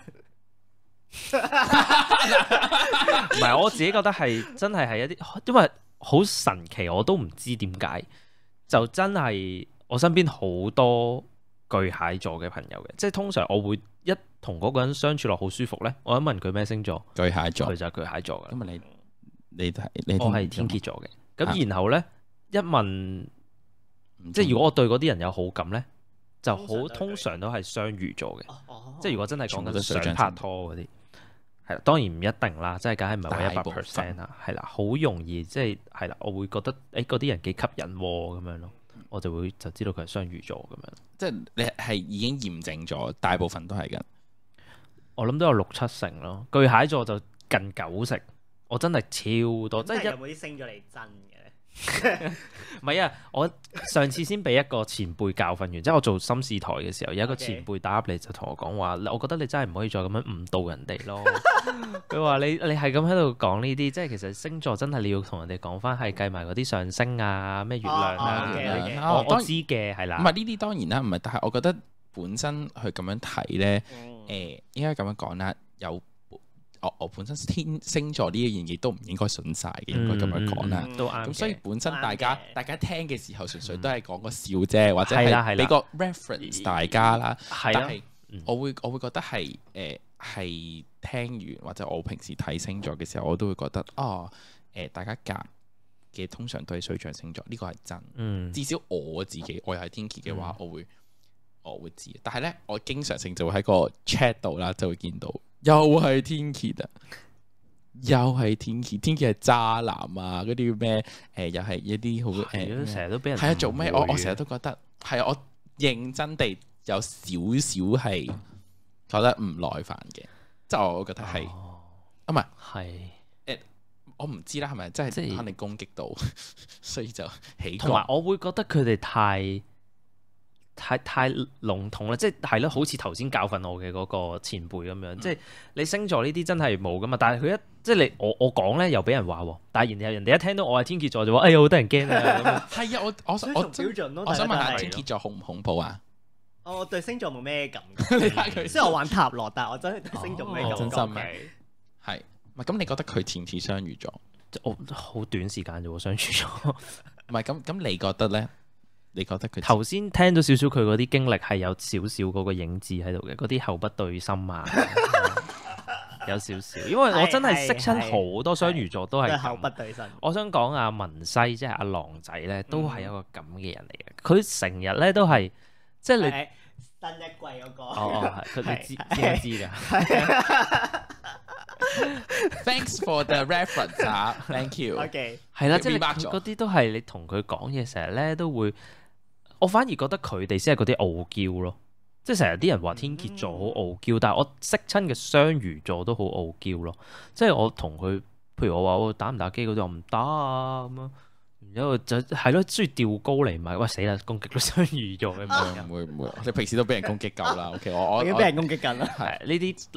唔係，我自己覺得係真係係一啲，因為。好神奇，我都唔知點解，就真係我身邊好多巨蟹座嘅朋友嘅，即係通常我會一同嗰個人相處落好舒服咧，我一問佢咩星座，巨蟹座，佢就係巨蟹座嘅。咁啊你你係你我係天蠍座嘅，咁、啊、然後咧一問，即係如果我對嗰啲人有好感咧，就好通常都係雙魚座嘅，哦、即係如果真係講緊想拍拖嗰啲。係啦，當然唔一定啦，即係梗係唔係話一百 percent 啦，係啦，好容易即係係啦，我會覺得誒嗰啲人幾吸引喎咁樣咯，我就會就知道佢係雙魚座咁樣。即係你係已經驗證咗，大部分都係㗎。我諗都有六七成咯，巨蟹座就近九成，我真係超多。即係
有冇啲星座你真嘅？
唔係啊！我上次先俾一個前輩教訓完，即係我做心事台嘅時候，有一個前輩打入嚟就同我講話，我覺得你真係唔可以再咁樣誤導人哋咯。佢話你你係咁喺度講呢啲，即係其實星座真係你要同人哋講翻，係計埋嗰啲上升啊、咩月亮啊。我知嘅係啦。唔係呢啲當然啦，唔係，但係我覺得本身去咁樣睇咧，誒、嗯呃，應該咁樣講啦，有。我我本身天星座呢一樣嘢都唔應該信晒嘅，應該咁樣講啦。都啱。咁所以本身大家大家聽嘅時候，純粹都係講個笑啫，或者係俾個 reference 大家啦。係啦。但係我會我會覺得係誒係聽完或者我平時睇星座嘅時候，我都會覺得啊誒大家夾嘅通常都係水象星座，呢個係真。至少我自己我又係天蠍嘅話，我會我會知。但係咧，我經常性就會喺個 chat 度啦，就會見到。又係天蠍啊！又係天蠍，天蠍係渣男啊！嗰啲咩誒，又係一啲好誒，成日都俾人係啊！做咩？我我成日都覺得係啊！我認真地有少少係覺得唔耐煩嘅，即係我覺得係啊，唔係係誒，我唔知啦，係咪真係即係肯定攻擊到，所以就起。同埋我會覺得佢哋太。太太籠統啦，即係係咯，好似頭先教訓我嘅嗰個前輩咁樣，嗯、即係你星座呢啲真係冇噶嘛，但係佢一即係你我我講咧又俾人話喎，但係然後人哋一聽到我係天蠍座就話，哎呀好得人驚啊！係啊，我我我標準咯，我想問下天蠍座恐唔恐怖啊？
我對星座冇咩感覺，你睇佢雖然我玩塔羅，但係我真係對星座冇咩感覺。真心嘅係，唔係咁？你覺得佢似唔似雙魚座？我好短時間啫喎，雙魚座。唔係咁咁，你覺得咧？你覺得佢頭先聽到少少佢嗰啲經歷係有少少嗰個影子喺度嘅，嗰啲口不對心啊，有少少。因為我真係識親好多雙魚座都係口不對心。我想講阿文西即係阿狼仔咧，都係一個咁嘅人嚟嘅。佢成日咧都係即係你新一季嗰個。哦，係佢哋知知知㗎。Thanks for the reference 啊，Thank you。OK，係啦，即係嗰啲都係你同佢講嘢，成日咧都會。我反而覺得佢哋先係嗰啲傲嬌咯，即係成日啲人話天蠍座好傲嬌，嗯、但係我識親嘅雙魚座都好傲嬌咯。即係我同佢，譬如我話我打唔打機嗰啲，我唔打啊咁樣，然之後就係咯，中意吊高嚟賣，喂死啦，攻擊到雙魚座嘅。唔會唔會，你平時都俾人攻擊夠啦。OK，我我已經俾人攻擊緊啦。係呢啲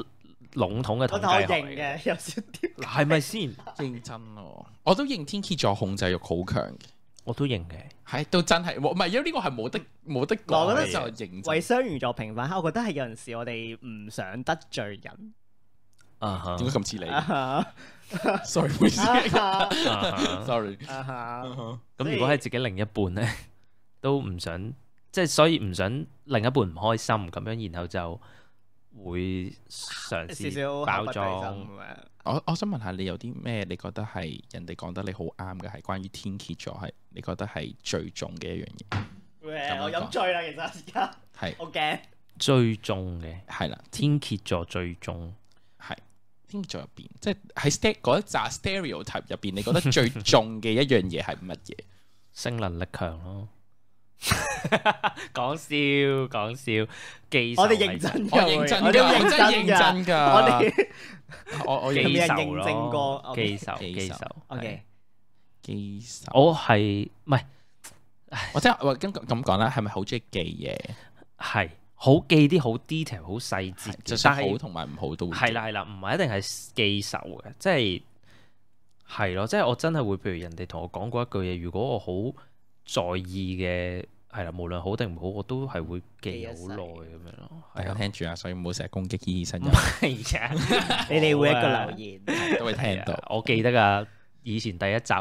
籠統嘅統計學嚟嘅，
有少啲
係咪先？
認真喎，我都認天蠍座控制欲好強嘅，
我都認嘅，
係都真係，唔係因為呢個係冇得冇得講。
我覺得
就認真
為雙魚座平反，我覺得係有陣時我哋唔想得罪人。
啊，點解咁似你 ？Sorry，唔好意思，Sorry。
咁如果係自己另一半咧，都唔想，即係所以唔想另一半唔開心咁樣，然後就會嘗試包裝。
我我想問下你有啲咩？你覺得係人哋講得你好啱嘅，係關於天蠍座係你覺得係最重嘅一樣嘢？
我飲醉啦，其實而家
係
好驚。
最重嘅
係啦，
天蠍座最重
係天蠍座入邊，即係喺 st 嗰一紮 stereotype 入邊，你覺得最重嘅一樣嘢係乜嘢？
性能力強咯。講笑講笑，記仇
我哋認真，
我認真，我真係認真噶。
我哋
我我
記仇
認證過
記仇記仇。
OK，
記仇。
我係唔係？
我即係我咁咁講啦，係咪好中意記嘢？
係好記啲好 detail、好細節，
就算好同埋唔好都
係啦係啦，唔係一定係記仇嘅，即係係咯，即係我真係會，譬如人哋同我講過一句嘢，如果我好在意嘅係啦，無論好定唔好，我都係會記好耐咁樣咯。
大家聽住啊，所以唔好成日攻擊醫生。
係啊，
你哋會一個留言
都會聽到。
我記得噶，以前第一集啊，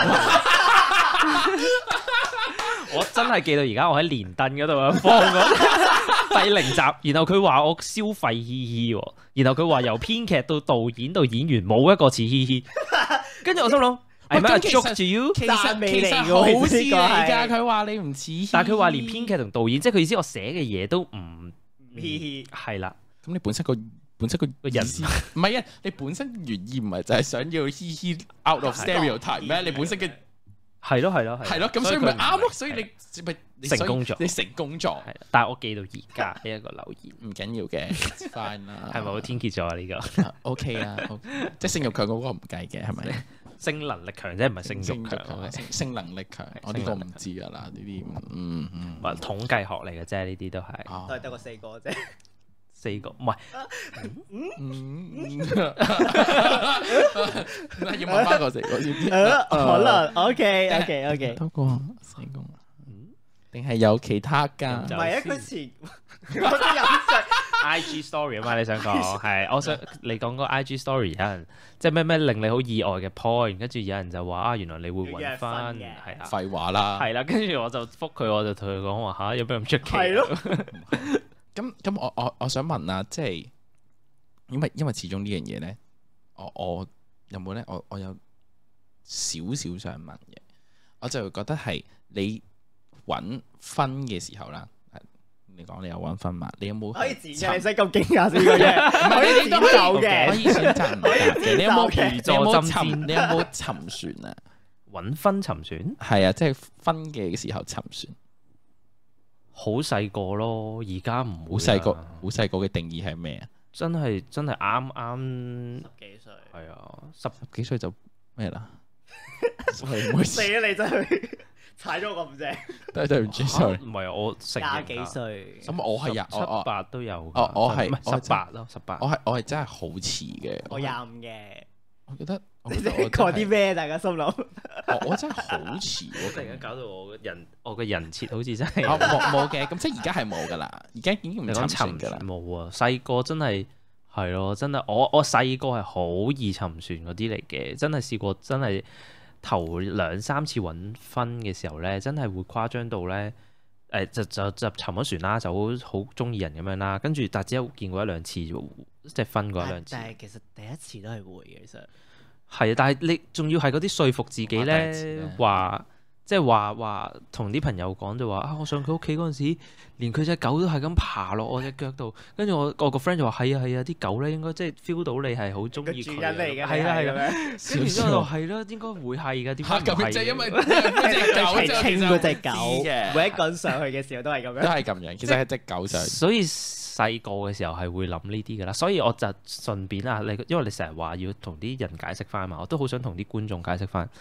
我真係記到而家，我喺連登嗰度啊放咗第零集，然後佢話我消費嘻嘻，然後佢話由編劇到導演到演員冇一個似嘻嘻，跟住我心諗。係咩？joke to you，
其實其實好似嚟㗎。佢話你唔似，
但係佢話連編劇同導演，即係佢意思，我寫嘅嘢都唔
嘻嘻。
係啦，
咁你本身個本身個
個人
唔係啊？你本身原意唔係就係想要嘻嘻 out of stereotype 咩？你本身嘅
係咯係咯
係咯，咁所以咪啱咯。所以你咪
成功咗，
你成功咗。
但係我記到而家呢一個留言
唔緊要嘅 fine 啦。
係咪好天蠍座啊？呢個
OK 啊，即係性慾強嗰個唔計嘅係咪？
性能力強啫，唔係性慾強。
性能力強，我呢個唔知噶啦，呢啲嗯嗯，
話統計學嚟嘅啫，呢啲都係
都係得個四個啫，
四個唔係，
嗯，要問翻個四個先，
可能 OK OK OK，
多個四個，定係有其他噶？
唔係啊，佢前我都飲醉。
I G story 啊嘛，你想講係，我想你講個 I G story 有人即係咩咩令你好意外嘅 point，跟住有人就話啊，原來你會揾翻係啊，
廢話啦，
係啦，跟住我就覆佢，我就同佢講話吓，有咩咁出奇？
係咯，
咁咁我我我想問啊，即係因為因為始終呢樣嘢咧，我我有冇咧？我我有少少想問嘅，我就覺得係你揾分嘅時候啦。你講你有揾分嘛？你有冇可以剪嘅？你使咁驚訝先嘅啫，唔係呢啲都有嘅，可以選擇唔嘅。你有冇你有冇沉？你有冇沉船啊？
揾分沉船？
係啊，即係分嘅時候沉船。
好細個咯，而家唔
好細個，好細個嘅定義係咩啊？
真係真係啱啱
十幾歲。係
啊，
十幾歲就咩啦？
死啊！你真係〜踩咗咁正，
對對唔住，sorry，
唔係我
廿幾歲，
咁我係廿
七八都有，
哦，我係
十八咯，十八，
我係我係真係好遲嘅，
我廿五嘅，
我覺得
你哋講啲咩？大家心諗，
我真係好遲，
突然間搞到我嘅人，我嘅人設好似真係
冇冇嘅，咁即係而家係冇噶啦，而家已經唔沉船噶啦，
冇啊，細個真係係咯，真係我我細個係好易沉船嗰啲嚟嘅，真係試過真係。頭兩三次揾分嘅時候咧，真係會誇張到咧，誒、呃、就就就沉咗船啦，就好好中意人咁樣啦。跟住但係只有見過一兩次，即係分過一兩次。
但係其實第一次都係會嘅，其實
係啊，但係你仲要係嗰啲說服自己咧，話即係話話同啲朋友講就話啊，我上佢屋企嗰陣時，連佢隻狗都係咁爬落我隻腳度，跟住我我個 friend 就話係啊係啊，啲狗咧應該即係 feel 到你係好中意佢，
主人嚟嘅，
係啦係啦，跟住之後係啦，應該會係㗎，點解唔係？
就係因為嗰隻狗就
清嗰隻狗，每一個人上去嘅時候都係咁樣，
都係咁樣。其實係隻狗上，
所以細個嘅時候係會諗呢啲㗎啦。所以我就順便啊，你因為你成日話要同啲人解釋翻嘛，我都好想同啲觀眾解釋翻。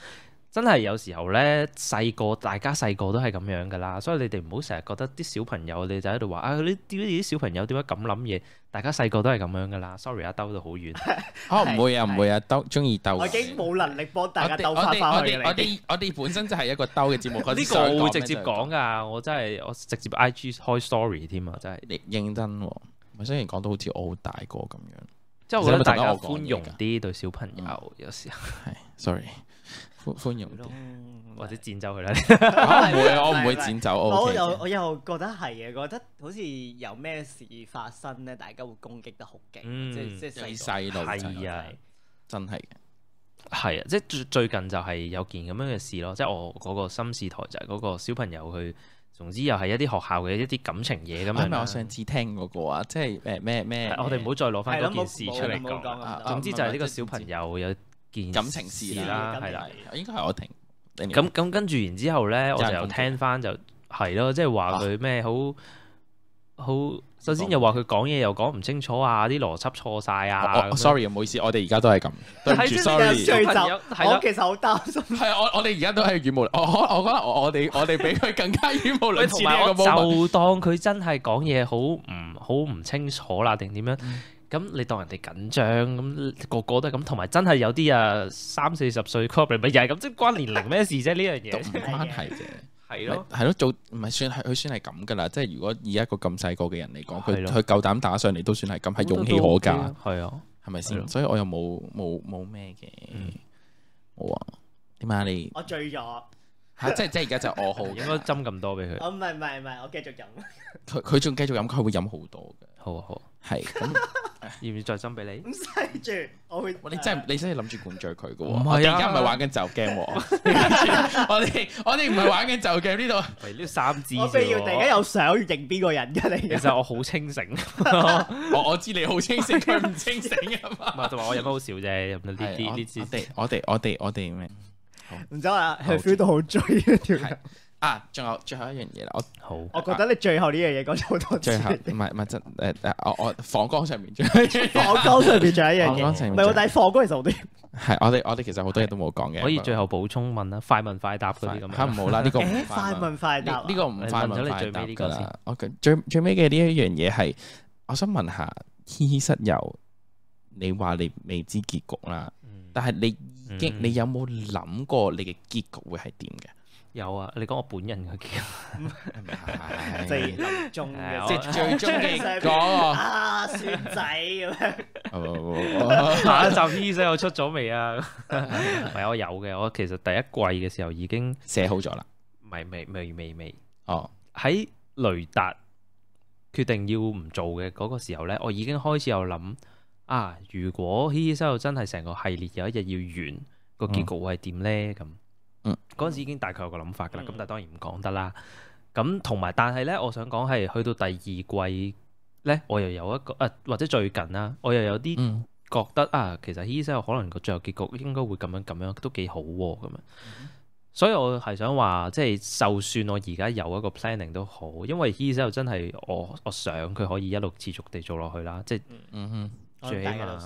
真係有時候咧，細個大家細個都係咁樣噶啦，所以你哋唔好成日覺得啲小朋友，你就喺度話啊，啲啲小朋友點解咁諗嘢？大家細個都係咁樣噶啦。Sorry 啊，兜到好遠。
哦，唔會啊，唔會啊，兜中意兜。
我已經冇能力幫大家兜翻翻去。
我哋我哋我哋本身就係一個兜嘅節目。呢
個我會直接講噶，我真係我直接 I G 開 story 添啊，真係。你
認真喎，咪雖然講到好似我好大個咁樣，
即係我覺得大家寬容啲對小朋友，有時候
係 sorry。寬寬容
或者剪走佢啦。
唔會啊，我唔會剪走。
我又我又覺得係嘅，覺得好似有咩事發生咧，大家會攻擊得好勁。即即係
細路
係啊，
真係嘅。
係啊，即係最最近就係有件咁樣嘅事咯。即係我嗰個心事台就係嗰個小朋友佢，總之又係一啲學校嘅一啲感情嘢咁樣。係咪我上次聽嗰個啊？即係誒咩咩？我哋唔好再攞翻嗰件事出嚟講。總之就係呢個小朋友有件
感情事啦，係啦，應該係我停。
咁咁跟住然之後咧，我就又聽翻就係咯，即係話佢咩好好，首先又話佢講嘢又講唔清楚啊，啲邏輯錯晒啊。
Sorry，唔好意思，我哋而家都係咁。對唔住，sorry。
我其實好擔心。係
我我哋而家都係語無，我我我覺得我我哋我哋比佢更加語無倫次呢個 moment。
就當佢真係講嘢好唔好唔清楚啦，定點樣？咁你當人哋緊張，咁個個都係咁，同埋真係有啲啊三四十歲 couple 咪又係咁，即係關年齡咩事啫？呢樣嘢都唔
關係啫，
係咯，
係咯，做唔係算係佢算係咁噶啦。即係如果以一個咁細個嘅人嚟講，佢佢夠膽打上嚟都算係咁，係勇氣可嘉，
係啊，
係咪先？所以我又冇冇冇咩嘅，冇啊？點解你
我醉咗
嚇？即係即係而家就我好，
應該斟咁多俾佢。
哦，唔係唔係唔係，我繼續飲。
佢佢仲繼續飲，佢會飲好多嘅。
好啊好，
係咁。要唔要再斟俾你？
唔使住，我會。
你真係你真係諗住灌醉佢嘅喎？
唔係啊，
而家唔係玩緊就 game 喎。我哋我哋唔係玩緊就 game 呢度。
係呢三支。
我非要突然間有相要認邊個人㗎你？
其實我好清醒。
我我知你好清醒，佢唔清醒啊嘛。
唔係，同埋我飲得好少啫，飲呢啲呢支。
我哋我哋我哋咩？
唔知啊，佢 feel 到好醉啊條友。
啊，仲有最後一樣嘢啦，我
好，
我覺得你最後呢樣嘢講咗好多次。
最後唔係唔係真誒誒，我我訪綱上面，
訪綱上面仲有一樣嘢，唔係我但係訪綱其實好啲。
係我哋我哋其實好多嘢都冇講嘅。
可以最後補充問啦，快問快答嗰啲咁。
嚇唔好啦，呢個
快問快答，
呢個唔快問快答㗎啦。我最最尾嘅呢一樣嘢係，我想問下，H E HE 室友，你話你未知結局啦，但係你已經你有冇諗過你嘅結局會係點嘅？
有啊，你講我本人嘅結局，
即係臨終嘅，
即係最終嘅講
啊，孫仔咁樣。
下一集 H E HE 室友出咗未啊？唔係我有嘅，我其實第一季嘅時候已經
寫好咗啦。
唔係未未未未。
哦，
喺雷達決定要唔做嘅嗰個時候咧，我已經開始有諗啊，如果 H E HE 室友真係成個系列有一日要完，個結局會係點咧？咁。
嗯，
嗰陣時已經大概有個諗法㗎啦，咁、嗯、但係當然唔講得啦。咁同埋，但係咧，我想講係去到第二季咧，我又有一個啊，或者最近啦，我又有啲覺得、嗯、啊，其實 H E HE 室友可能個最後結局應該會咁樣咁樣，都幾好喎咁樣。嗯、所以我係想話，即係就算我而家有一個 planning 都好，因為 H E HE 室友真係我我想佢可以一路持續地做落去啦，即係嗯哼，最起碼。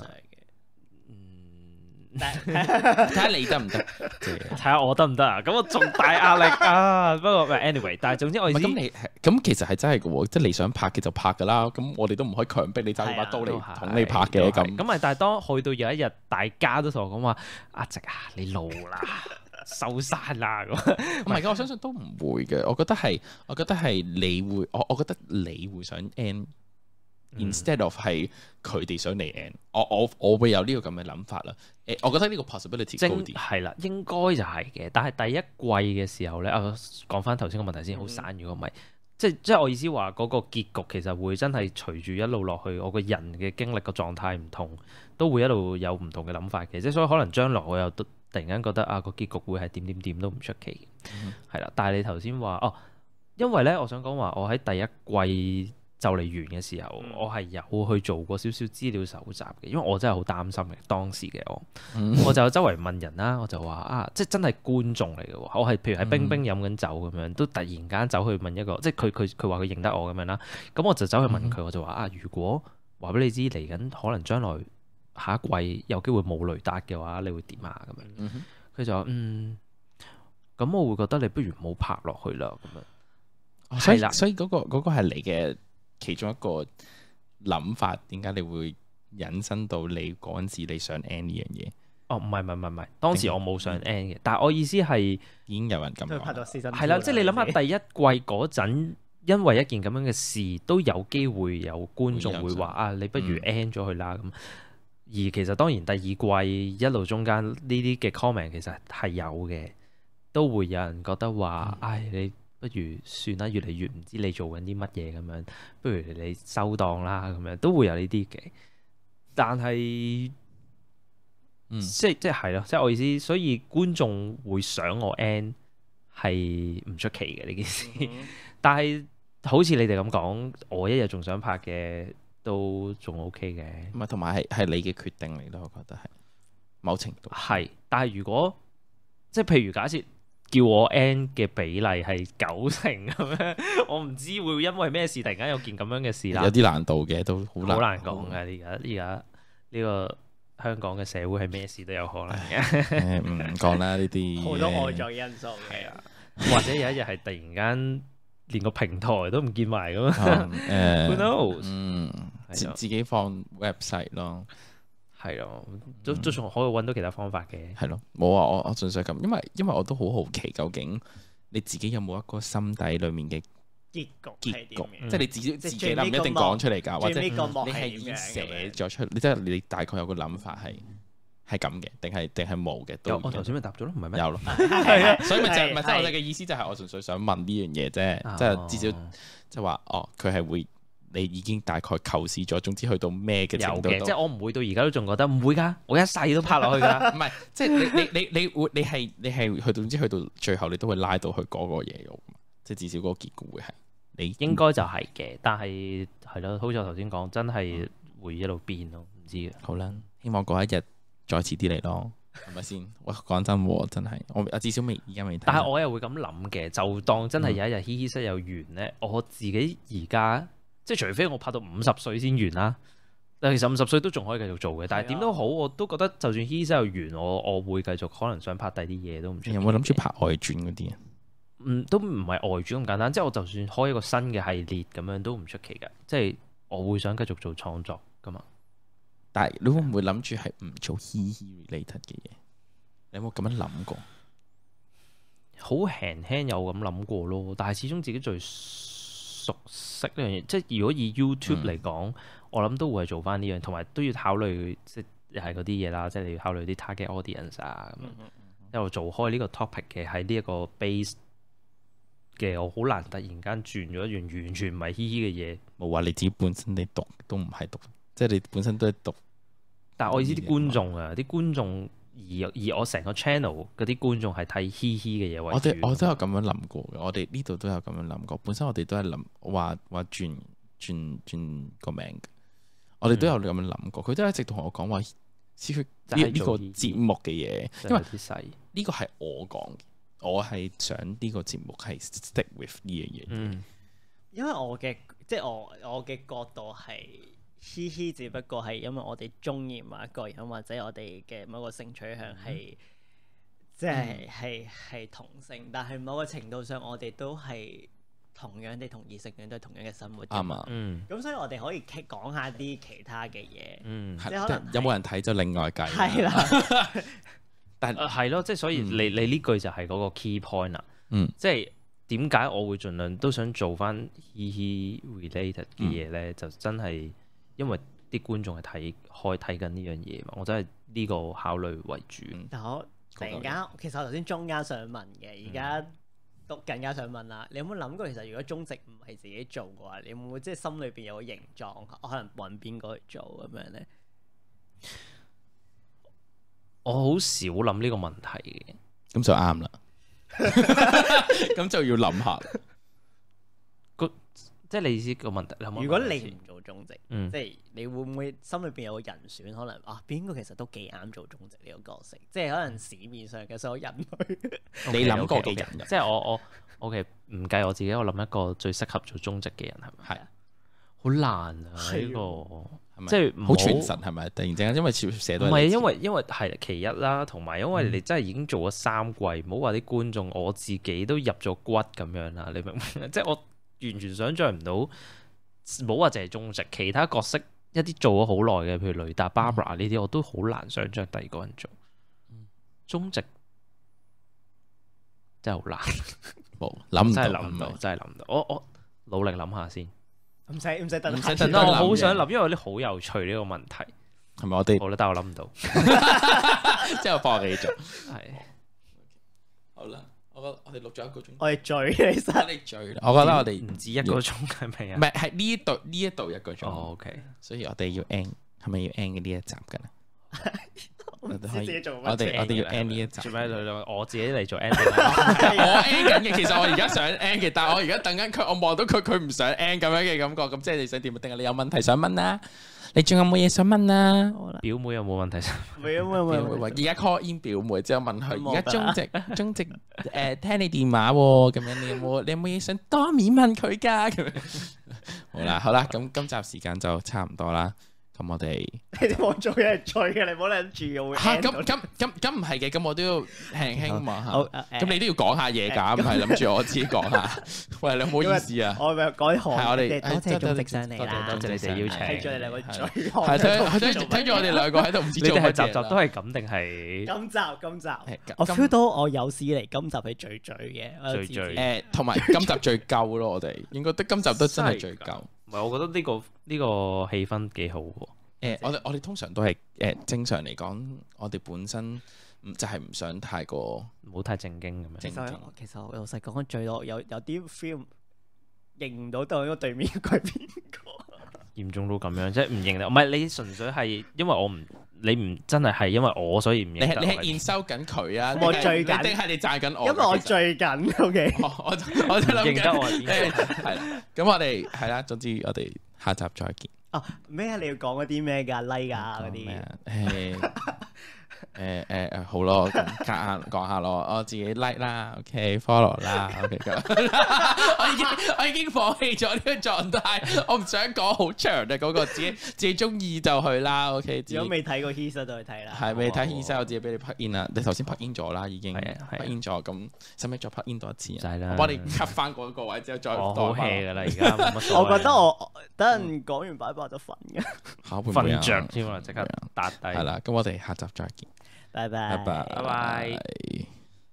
睇下你得唔得？
睇下我得唔得啊？咁我仲大壓力啊！不過 anyway，但係總之我意思
咁你咁其實係真係嘅喎，即係你想拍嘅就拍㗎啦。咁我哋都唔可以強迫你揸住把刀嚟捅你拍嘅咁。咁
咪但係當去到有一日，大家都同我講話：阿直啊，你老啦，收山啦咁。
唔係嘅，我相信都唔會嘅。我覺得係，我覺得係你會，我我覺得你會想 end。Instead of 係佢哋想嚟 end，我我我會有呢個咁嘅諗法啦。誒，我覺得呢個 possibility 高啲。
係啦，應該就係嘅。但係第一季嘅時候咧，啊講翻頭先個問題先，好散。如果唔係，即係即係我意思話嗰個結局其實會真係隨住一路落去，我個人嘅經歷個狀態唔同，都會一路有唔同嘅諗法嘅。即係所以可能將來我又突然間覺得啊個結局會係點點點都唔出奇嘅。係啦、嗯，但係你頭先話哦，因為咧我想講話我喺第一季。就嚟完嘅時候，嗯、我係有去做過少少資料搜集嘅，因為我真係好擔心嘅當時嘅我，嗯、我就周圍問人啦，我就話啊，即係真係觀眾嚟嘅喎，我係譬如喺冰冰飲緊酒咁樣，都突然間走去問一個，即係佢佢佢話佢認得我咁樣啦，咁我就走去問佢，嗯、我就話啊，如果話俾你知嚟緊可能將來下一季有機會冇雷達嘅話，你會點啊咁樣？佢、嗯、就話嗯。 咁我會覺得你不如唔好拍落去啦咁樣。
哦、所以所以嗰、嗰個嗰、嗰個係你嘅其中一個諗法，點解你會引申到你嗰陣時你想 end 呢樣嘢？
哦，唔係唔係唔係，當時我冇想 end 嘅，但係我意思係
已經有人咁講，
拍咗
係啦，即係你諗下第一季嗰陣，因為一件咁樣嘅事，都有機會有觀眾會話啊，你不如 end 咗佢啦咁。嗯、而其實當然第二季一路中間呢啲嘅 comment 其實係有嘅，都會有人覺得話，唉、嗯哎，你不如算啦，越嚟越唔知你做緊啲乜嘢咁樣，不如你收檔啦咁樣，都會有呢啲嘅。但係，嗯，即係即係係咯，即係我意思，所以觀眾會想我 end 係唔出奇嘅呢件事。嗯、但係好似你哋咁講，我一日仲想拍嘅都仲 OK 嘅。
唔係，同埋係係你嘅決定嚟咯，我覺得係某程度
係。但係如果即係譬如假設叫我 end 嘅比例係九成咁樣，我唔知會因為咩事突然間有件咁樣嘅事啦。
有啲難度嘅，都好難
好難講嘅。而家而家呢個香港嘅社會係咩事都有可能嘅。
唔講啦，呢啲
好多外在因素嘅，
啊、或者有一日係突然間連個平台都唔見埋咁啊。誒，Who knows？
嗯，自自己放 website 咯。
係咯，都都仲可以揾到其他方法嘅。
係咯，冇啊！我我純粹咁，因為因為我都好好奇，究竟你自己有冇一個心底裡面嘅
結局？結局，
即係你自己自己唔一定講出嚟㗎，或者你係已經寫咗出，你即係你大概有個諗法係係咁嘅，定係定係冇嘅？
有，我頭先咪答咗咯，唔係咩？
有咯，係啊，所以咪就係咪即係我哋嘅意思就係我純粹想問呢樣嘢啫，即係至少即係話哦，佢係會。你已經大概構思咗，總之去到咩嘅程度
有嘅，即係我唔會到而家都仲覺得唔會㗎，我一世都拍落去㗎。
唔係，即係你你你你會你係你係去到總之去到最後，你都會拉到去嗰個嘢㗎。即係至少嗰個結局會係你
應該就係嘅，但係係咯，好似我頭先講，真係會一路變咯，唔知嘅。
好啦，希望嗰一日再遲啲嚟咯，係咪先？哇，講真喎，真係我至少未而家未睇。
但係我又會咁諗嘅，就當真係有一日嘻嘻室有完咧，我自己而家。即係除非我拍到五十歲先完啦，但其實五十歲都仲可以繼續做嘅。但係點都好，我都覺得就算嘻嘻室有完，我我會繼續可能想拍第啲嘢都唔出奇。
有冇諗住拍外傳嗰啲啊？
嗯，都唔係外傳咁簡單。即係我就算開一個新嘅系列咁樣都唔出奇㗎。即係我會想繼續做創作㗎嘛。
但係你會唔會諗住係唔做嘻嘻 related 嘅嘢？你有冇咁樣諗過？
好輕輕有咁諗過咯，但係始終自己最熟悉呢樣嘢，即係如果以 YouTube 嚟講，嗯、我諗都會係做翻呢樣，同埋都要考慮即係又係嗰啲嘢啦，即係你要考慮啲 target audience 啊咁樣。嗯嗯嗯、一路做開呢個 topic 嘅喺呢一個 base 嘅，我好難突然間轉咗一樣完全唔係嘻嘻嘅嘢。
冇話你自己本身你讀都唔係讀，即係你本身都係讀。
但係我意思啲觀眾啊，啲觀眾。而而我成個 channel 嗰啲觀眾係睇嘻嘻嘅嘢為主。我哋
我都有咁樣諗過嘅，我哋呢度都有咁樣諗過。本身我哋都係諗話話轉轉轉個名，我哋都有咁樣諗過。佢、嗯、都一直同我講話，呢呢個節目嘅嘢，因為呢個係我講嘅，我係想呢個節目係 stick with 呢樣嘢。嗯，
因為我嘅即係我我嘅角度係。嘻嘻，只不過係因為我哋中意某一個人，或者我哋嘅某個性取向係，即係係係同性，但係某個程度上，我哋都係同樣地同異性戀都係同樣嘅生活。啱啊，嗯。咁所以我哋可以講下啲其他嘅嘢，嗯，即係可能
有冇人睇就另外計。
係啦，
但係係咯，即係所以你你呢句就係嗰個 key point 啦。嗯，即係點解我會盡量都想做翻嘻嘻 related 嘅嘢咧？就真係。因為啲觀眾係睇開睇緊呢樣嘢嘛，我真係呢個考慮為主。
但我突然間，其實我頭先中間想問嘅，而家都更加想問啦。你有冇諗過，其實如果中植唔係自己做嘅話，你會唔會即係心裏邊有個形狀，我可能揾邊個去做咁樣咧？
我好少諗呢個問題嘅，
咁就啱啦。咁就要諗下。
即係你意思個問題，
如果你唔做中植，
嗯、
即係你會唔會心裏邊有個人選？可能啊，邊個其實都幾啱做中植呢個角色？即係可能市面上嘅所有人類，
你諗過嘅人，
即係我我 OK 唔計我自己，我諗一個最適合做中植嘅人係咪？
係啊，
好難啊呢、呢個即係
好傳神係咪？突然之間，因為寫到
唔係因為因為係其一啦，同埋因為你真係已經做咗三季，唔好話啲觀眾，我自己都入咗骨咁樣啦。你明唔明？即係我完全想像唔到，唔好話淨係中植，其他角色一啲做咗好耐嘅，譬如雷達、Barbara 呢啲，我都好難想像第二個人做。中植真係好難，冇諗唔到，真係諗唔到，真係諗唔到。我我努力諗下先。
唔使唔使等，
唔使
等。我好想諗，因為有啲好有趣呢個問題，
係咪我哋？
好啦，但係我諗唔到，
即係我幫你做。係。好啦，我覺得我哋錄咗一個鐘。
我哋醉其實。
我哋醉。我覺得我哋
唔止一個鐘係咪啊？
唔係，係呢一度呢一度一個鐘。
哦 OK，
所以我哋要 end，係咪要 end 嘅呢一集㗎啦？
我哋我哋
我哋要 end 呢一集。
做咩？我自己嚟做 end。
我 end 緊嘅，其實我而家想 end 嘅，但係我而家等緊佢，我望到佢，佢唔想 end 咁樣嘅感覺，咁即係你想點？定係你有問題想問啊？你仲有冇嘢想問啊？
表妹有冇問題想問？
冇冇冇冇。
而家 call in 表妹之後問佢，而家中直中直誒聽你電話喎，咁樣你有冇你有冇嘢想當面問佢㗎？咁樣好啦好啦，咁今集時間就差唔多啦。咁我哋
你哋望做嘢係醉嘅，你唔好諗住我會
嚇咁咁咁咁唔係嘅，咁我都要輕輕望下。咁你都要講下嘢㗎，唔係諗住我自己講下。喂，你唔好意思啊。
我咪講啲行。
係我哋
多謝中直上嚟啦，
多謝你哋邀請。
睇住你兩個醉。
係睇睇住我哋兩個喺度唔知做乜嘢。
你哋係集集都係咁定係？
今集今集，我 feel 到我有史以嚟今集係最醉嘅。
最醉。
誒，同埋今集最夠咯，我哋應該得今集都真係最夠。
唔係，我覺得呢個呢個氣氛幾好喎。
誒，我哋我哋通常都係誒正常嚟講，我哋本身唔就係唔想太過
唔好太正經咁樣。
其實其實我老實講，最多有有啲 feel 認唔到對個對面係邊個。
嚴重到咁樣，即係唔認得。唔係你純粹係因為我唔你唔真係係因為我所以唔認得。
你係你係驗收緊佢啊？
我醉緊
定係你讚緊我？
因為我醉緊。O K。
我我就諗緊。
認得我係邊個？
係啦。咁我哋係啦。總之我哋下集再見。
啊咩啊？你要講嗰啲咩㗎 like 啊嗰啲？
誒誒誒誒好咯，夾下講下咯，我自己 like 啦 ，OK follow 啦 ，OK 咁。我已經我已經放棄咗呢個狀態，我唔想講好長嘅嗰個，自己自己中意就去啦，OK。
如果未睇過 Heath 就去睇啦。
係未睇 Heath 我自己俾你 plug in 啦，你頭先 plug in 咗啦，已經 plug in 咗，咁使唔使再 plug in 多一次啊？
使啦。
我幫你 cut 翻嗰個位之後再。
我好 hea 㗎啦，而家冇乜所謂。
我覺得我等陣講完拜拜就瞓嘅。
瞓着添啊！即刻打低。
係啦，咁我哋下集再見。
拜拜。
拜拜。
拜拜。